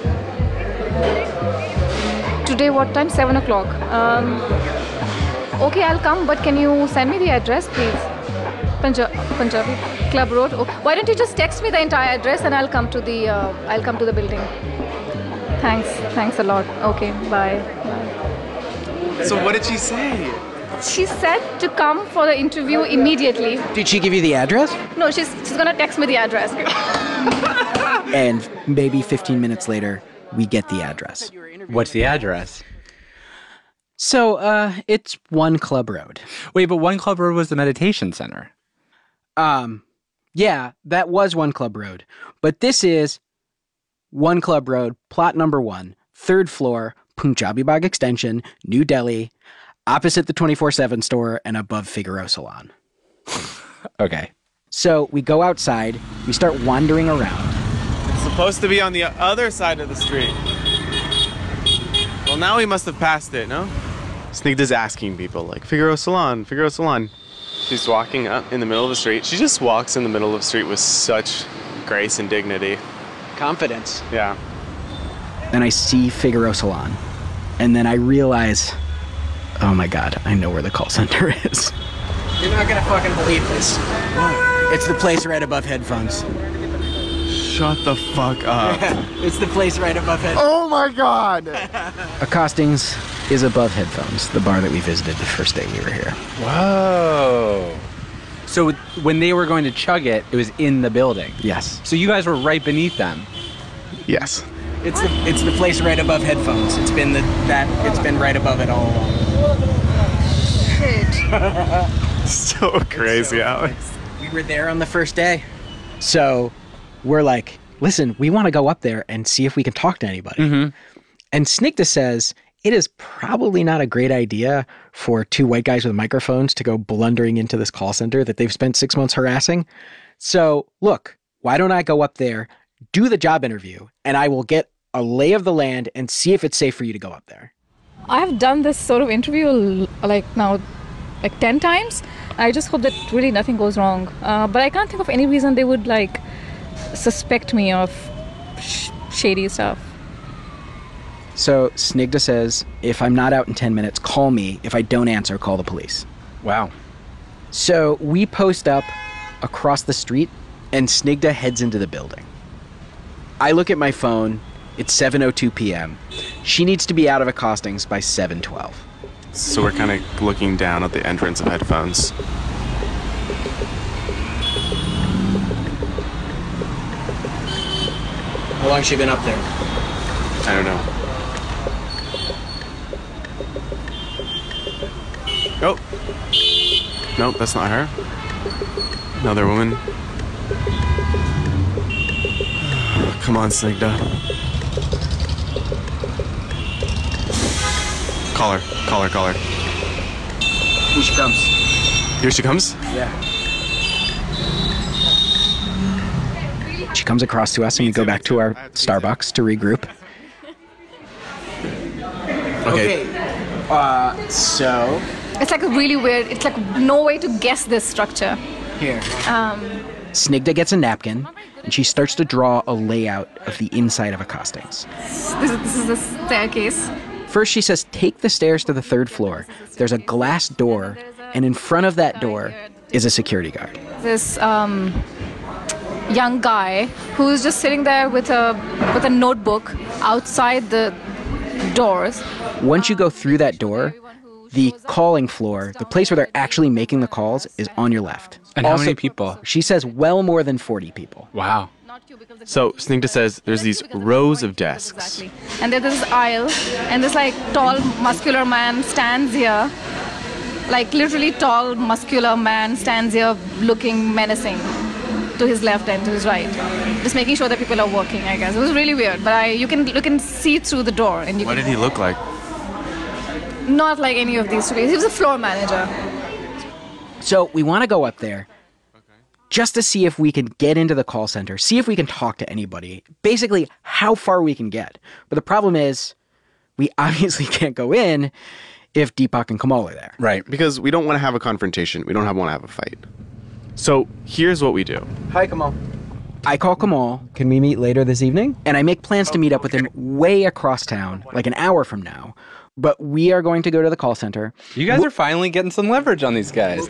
Today, what time? 7 o'clock. Okay, I'll come, but can you send me the address, please? Punjabi Club Road. Oh, why don't you just text me the entire address and I'll come to the building. Thanks a lot. Okay, bye. So what did she say? She said to come for the interview immediately. Did she give you the address? No, she's gonna text me the address. And maybe 15 minutes later, we get the address. What's the address? So, it's One Club Road. Wait, but One Club Road was the meditation center. Yeah, that was One Club Road. But this is One Club Road, plot number 1, 3rd floor, Punjabi Bagh Extension, New Delhi, opposite the 24/7 store and above Figaro Salon. Okay. So we go outside, we start wandering around. It's supposed to be on the other side of the street. Well, now we must have passed it, no? Snigdha's asking people, like, Figaro Salon, Figaro Salon. She's walking up in the middle of the street. She just walks in the middle of the street with such grace and dignity. Confidence. Yeah. Then I see Figaro Salon. And then I realize, oh my God, I know where the call center is. You're not gonna fucking believe this. It's the place right above headphones. Shut the fuck up. It's the place right above headphones. Oh my God. Accostings is above headphones, the bar that we visited the first day we were here. Whoa. So when they were going to chug it, it was in the building? Yes. So you guys were right beneath them? Yes. It's the place right above headphones. It's been right above it all along. Shit. So crazy, Alex. We were there on the first day. So we're like, listen, we want to go up there and see if we can talk to anybody. Mm-hmm. And Snigdha says it is probably not a great idea for 2 white guys with microphones to go blundering into this call center that they've spent 6 months harassing. So look, why don't I go up there, do the job interview, and I will get a lay of the land and see if it's safe for you to go up there. I have done this sort of interview like 10 times. I just hope that really nothing goes wrong. But I can't think of any reason they would suspect me of shady stuff. So Snigdha says, if I'm not out in 10 minutes, call me. If I don't answer, call the police. Wow. So we post up across the street and Snigdha heads into the building. I look at my phone. It's 7:02 p.m. She needs to be out of Accostings by 7:12. So we're kind of looking down at the entrance of headphones. How long has she been up there? I don't know. Oh. Nope, that's not her. Another woman. Come on, Snigdha. Call her. Here she comes. Here she comes? Yeah. She comes across to us and we go back to our Starbucks to regroup. Okay. So... It's really weird. It's no way to guess this structure. Here. Snigdha gets a napkin and she starts to draw a layout of the inside of Accostings. This is the staircase. First she says, take the stairs to the 3rd floor. There's a glass door, and in front of that door is a security guard. This young guy who's just sitting there with a notebook outside the doors. Once you go through that door, the calling floor, the place where they're actually making the calls, is on your left. And how many people? She says well more than 40 people. Wow. So Snigdha says there's these rows of desks. Exactly. And there's this aisle, and this tall, muscular man stands here. Literally tall, muscular man stands here looking menacing to his left and to his right. Just making sure that people are working, I guess. It was really weird, but you can see through the door. And What did he look like? Not like any of these two. He was a floor manager. So we want to go up there, just to see if we can get into the call center, see if we can talk to anybody, basically how far we can get. But the problem is we obviously can't go in if Deepak and Kamal are there. Right, because we don't want to have a confrontation. We don't want to have a fight. So here's what we do. Hi, Kamal. I call Kamal. Can we meet later this evening? And I make plans to meet up with him way across town, like an hour from now. But we are going to go to the call center. You guys are finally getting some leverage on these guys.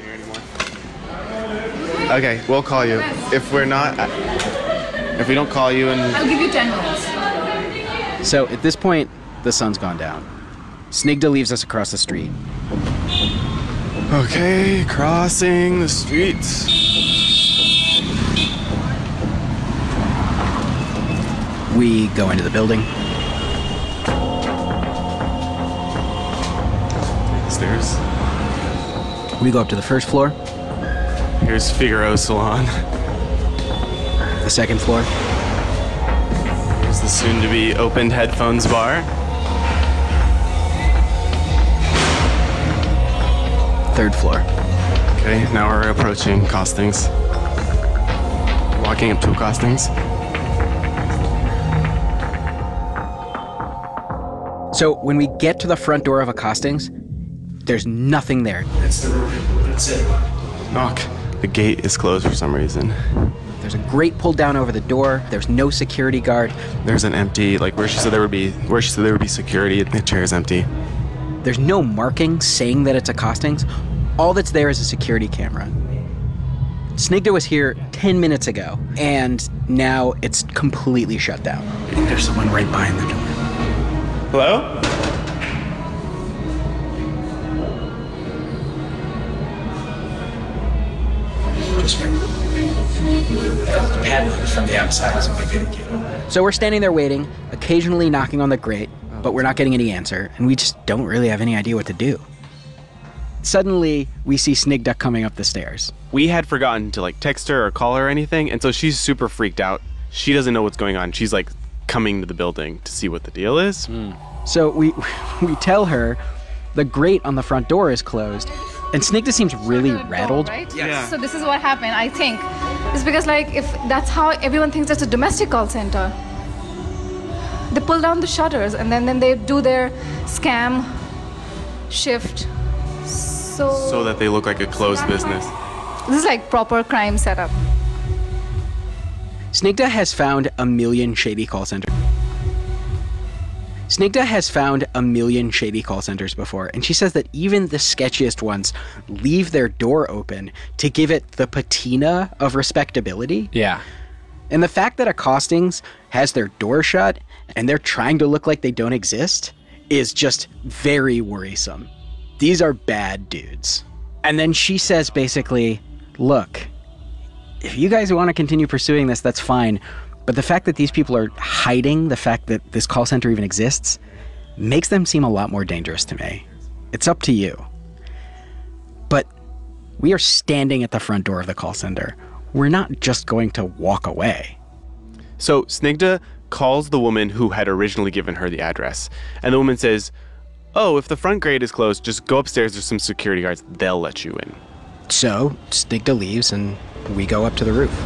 Okay, we'll call you. If we're not, if we don't call you and... I'll give you 10 minutes. So at this point, the sun's gone down. Snigdha leaves us across the street. Okay, crossing the street. We go into the building. Stairs. We go up to the first floor. Here's Figaro's salon. The second floor. Here's the soon-to-be opened headphones bar. Third floor. Okay, now we're approaching Costings. Walking up to Costings. So when we get to the front door of a Costings, there's nothing there. That's the roof. That's it. Knock. The gate is closed for some reason. There's a grate pulled down over the door. There's no security guard. There's an empty, like where she said there would be security. The chair is empty. There's no marking saying that it's a Costings. All that's there is a security camera. Snigdha was here 10 minutes ago, and now it's completely shut down. I think there's someone right behind the door. Hello? From the outside, so we're standing there waiting, occasionally knocking on the grate, but we're not getting any answer, and we just don't really have any idea what to do. Suddenly, we see Snigdha coming up the stairs. We had forgotten to text her or call her or anything, and so she's super freaked out. She doesn't know what's going on. She's coming to the building to see what the deal is. So we tell her the grate on the front door is closed. And Snigdha seems really rattled. Right? Yes. So this is what happened, I think. It's because if that's how everyone thinks it's a domestic call center. They pull down the shutters and then they do their scam shift. So that they look like a closed business. This is proper crime setup. Snigdha has found a million shady call centers. Snigdha has found a million shady call centers before, and she says that even the sketchiest ones leave their door open to give it the patina of respectability. Yeah. And the fact that a Costings has their door shut and they're trying to look like they don't exist is just very worrisome. These are bad dudes. And then she says basically, look, if you guys want to continue pursuing this, that's fine. But the fact that these people are hiding the fact that this call center even exists makes them seem a lot more dangerous to me. It's up to you. But we are standing at the front door of the call center. We're not just going to walk away. So Snigdha calls the woman who had originally given her the address. And the woman says, oh, if the front grate is closed, just go upstairs. There's some security guards. They'll let you in. So Snigdha leaves and we go up to the roof.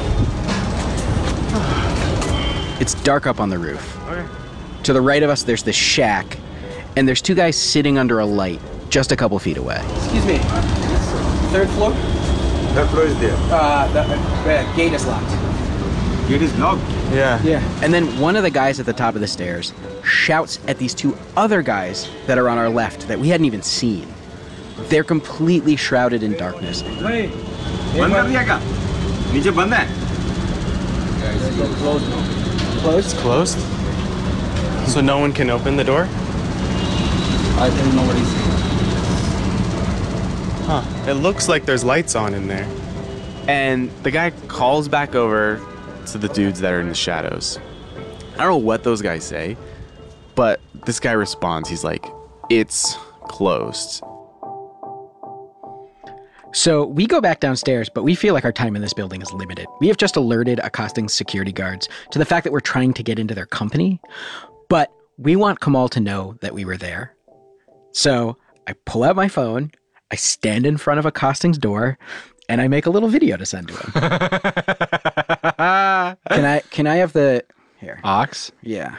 It's dark up on the roof. Okay. To the right of us, there's this shack, and there's two guys sitting under a light just a couple feet away. Excuse me. Third floor? Third floor is there. The gate is locked. Gate is locked? Yeah. And then one of the guys at the top of the stairs shouts at these two other guys that are on our left that we hadn't even seen. They're completely shrouded in darkness. Hey, बंद कर दिया क्या? नीचे बंद है? Closed? Closed? So no one can open the door? I think nobody's. Huh. It looks like there's lights on in there. And the guy calls back over to the dudes that are in the shadows. I don't know what those guys say, but this guy responds. He's like, it's closed. So we go back downstairs, but we feel like our time in this building is limited. We have just alerted Costings security guards to the fact that we're trying to get into their company, but we want Kamal to know that we were there. So I pull out my phone, I stand in front of Costings door, and I make a little video to send to him. Can I have the here? Ox? Yeah.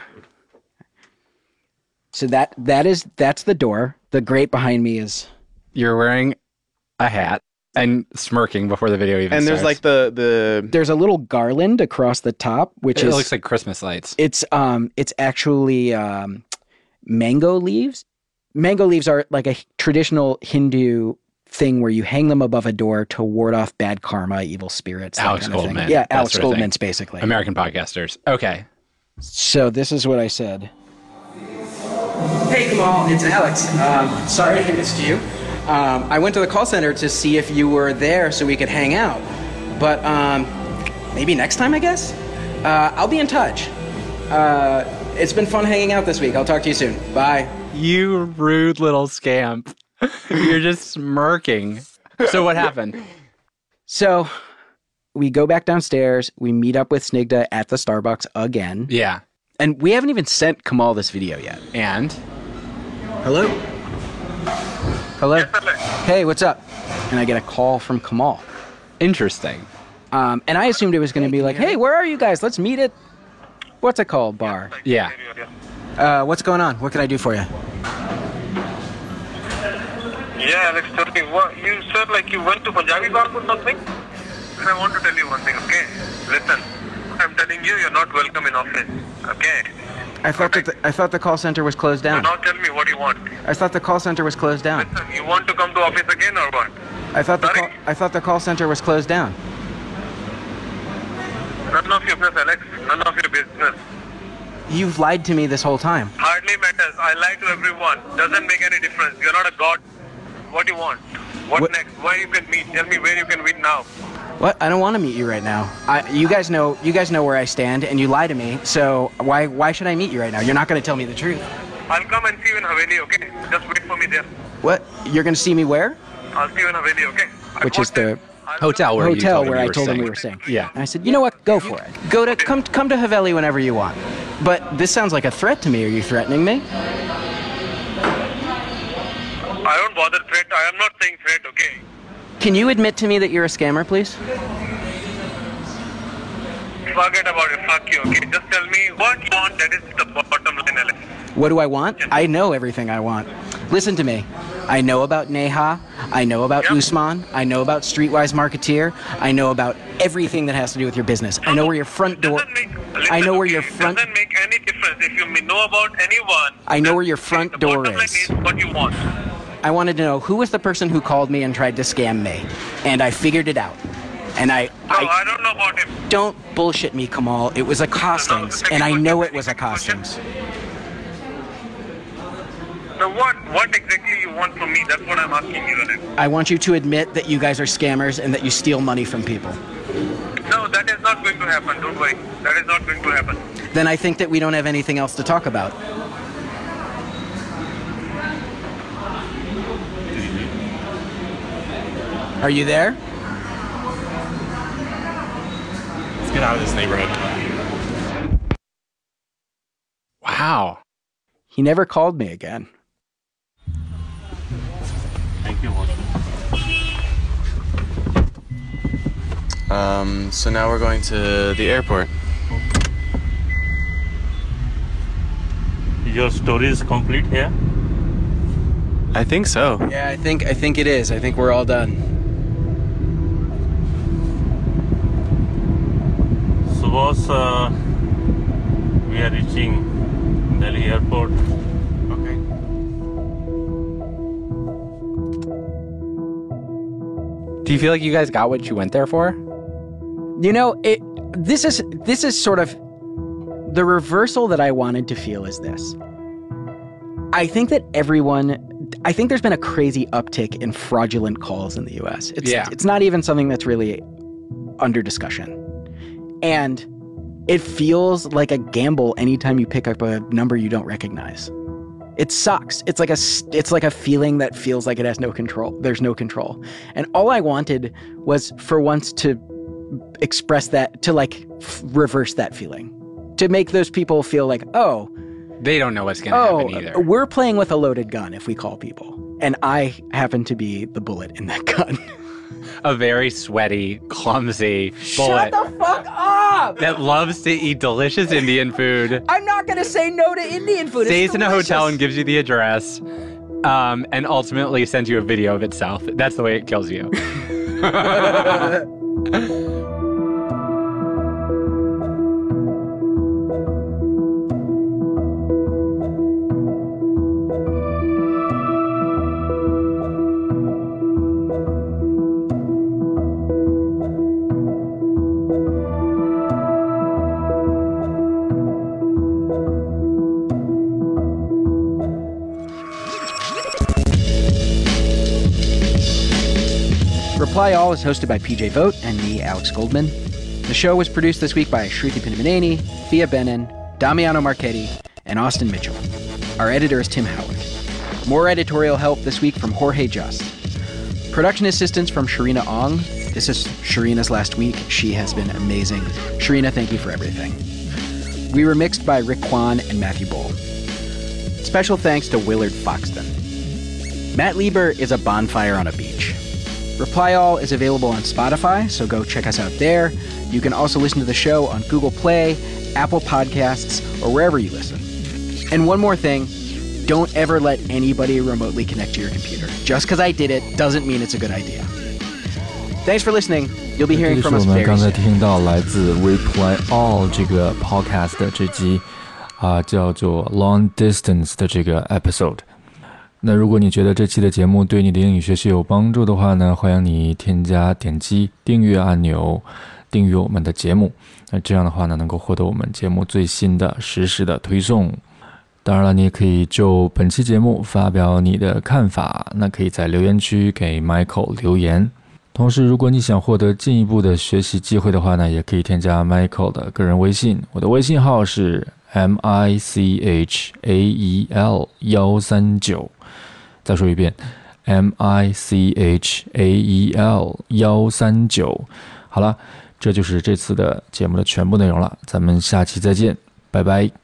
So that's the door. The grate behind me is You're wearing a hat and smirking before the video even And there's starts. like the there's a little garland across the top, which it is looks like Christmas lights. It's actually mango leaves. Mango leaves are like a traditional Hindu thing where you hang them above a door to ward off bad karma, evil spirits. That Alex kind of thing. Goldman. Yeah, that Alex sort of thing. Goldman's basically. American podcasters. Okay. So this is what I said. Hey Kamal, it's Alex. Sorry I missed you. I went to the call center to see if you were there so we could hang out. But maybe next time, I guess? I'll be in touch. It's been fun hanging out this week. I'll talk to you soon. Bye. You rude little scamp. You're just smirking. So what happened? So we go back downstairs. We meet up with Snigdha at the Starbucks again. Yeah. And we haven't even sent Kamal this video yet. And? Hello? Hello? Hey, what's up? And I get a call from Kamal. Interesting. And I assumed it was going to be like, hey, where are you guys? Let's meet at, what's it called, bar? Yeah. What's going on? What can I do for you? Yeah, Alex, tell me, what, you said like you went to Punjabi bar or something? And I want to tell you one thing, okay? Listen, I'm telling you, you're not welcome in office, okay? I thought the call center was closed So down. now tell me what you want. I thought the call center was closed down. Listen, you want to come to office again or what? I thought the call center was closed down. None of your business, Alex. None of your business. You've lied to me this whole time. Hardly matters. I lie to everyone. Doesn't make any difference. You're not a god. What do you want? What next? Where you can meet? Tell me where you can meet now. What? I don't want to meet you right now. You guys know where I stand, and you lie to me. So why should I meet you right now? You're not going to tell me the truth. I'll come and see you in Haveli, okay? Just wait for me there. What? You're going to see me where? I'll see you in Haveli, okay? Which is the hotel where I you told him we were staying. Yeah. And I said, you know what? Go for it. Come to Haveli whenever you want. But this sounds like a threat to me. Are you threatening me? I don't bother threat. I am not saying threat, okay? Can you admit to me that you're a scammer, please? Forget about it. Fuck you, okay? Just tell me what you want. That is the bottom line, Alex. What do I want? I know everything I want. Listen to me. I know about Neha. I know about Usman. I know about Streetwise Marketeer. I know about everything that has to do with your business. I know where your front door... I know where your front... It doesn't make any difference if you know about anyone. I know where your front door Bottom line is. what you want. I wanted to know who was the person who called me and tried to scam me. And I figured it out. And I don't know about him. Don't bullshit me, Kamal. It was a costings. And I know it was a costings. So what exactly you want from me? That's what I'm asking you, Alex. I want you to admit that you guys are scammers and that you steal money from people. No, that is not going to happen. Don't worry. That is not going to happen. Then I think that we don't have anything else to talk about. Are you there? Let's get out of this neighborhood. Wow. He never called me again. Thank you. So now we're going to the airport. Your story is complete here? I think so. Yeah, I think it is. I think we're all done. So boss, we are reaching Delhi airport. Okay. Do you feel like you guys got what you went there for? You know, this is sort of the reversal that I wanted to feel is this. I think there's been a crazy uptick in fraudulent calls in the US. It's not even something that's really under discussion. And it feels like a gamble anytime you pick up a number you don't recognize. It sucks. It's like a feeling that feels like it has no control. There's no control. And all I wanted was for once to express that, to reverse that feeling. To make those people feel like, oh, they don't know what's going to happen either. We're playing with a loaded gun if we call people. And I happen to be the bullet in that gun. a very sweaty, clumsy bullet Shut the fuck up! that loves to eat delicious Indian food. I'm not gonna say no to Indian food. Stays in a hotel and gives you the address, and ultimately sends you a video of itself. That's the way it kills you. Reply All is hosted by PJ Vogt and me, Alex Goldman. The show was produced this week by Shruti Pinamaneni, Thea Benin, Damiano Marchetti, and Austin Mitchell. Our editor is Tim Howard. More editorial help this week from Jorge Just. Production assistance from Sharina Ong. This is Sharina's last week. She has been amazing. Sharina, thank you for everything. We were mixed by Rick Kwan and Matthew Bull. Special thanks to Willard Foxton. Matt Lieber is a bonfire on a beach. Reply All is available on Spotify, so go check us out there. You can also listen to the show on Google Play, Apple Podcasts, or wherever you listen. And one more thing, don't ever let anybody remotely connect to your computer. Just because I did it doesn't mean it's a good idea. Thanks for listening. You'll be hearing from us very soon. 刚才听到来自 Reply All 这个 podcast 的这集叫做 Long Distance 的这个 episode。那如果你觉得这期的节目对你的英语学习有帮助的话呢，欢迎你点击订阅按钮，订阅我们的节目。那这样的话呢，能够获得我们节目最新的实时的推送。当然了，你也可以就本期节目发表你的看法，那可以在留言区给 Michael 留言。同时，如果你想获得进一步的学习机会的话呢，也可以添加 Michael 的个人微信，我的微信号是 MICHAEL139。再说一遍 MICHAEL139。好了，这就是这次的节目的全部内容了，咱们下期再见，拜拜。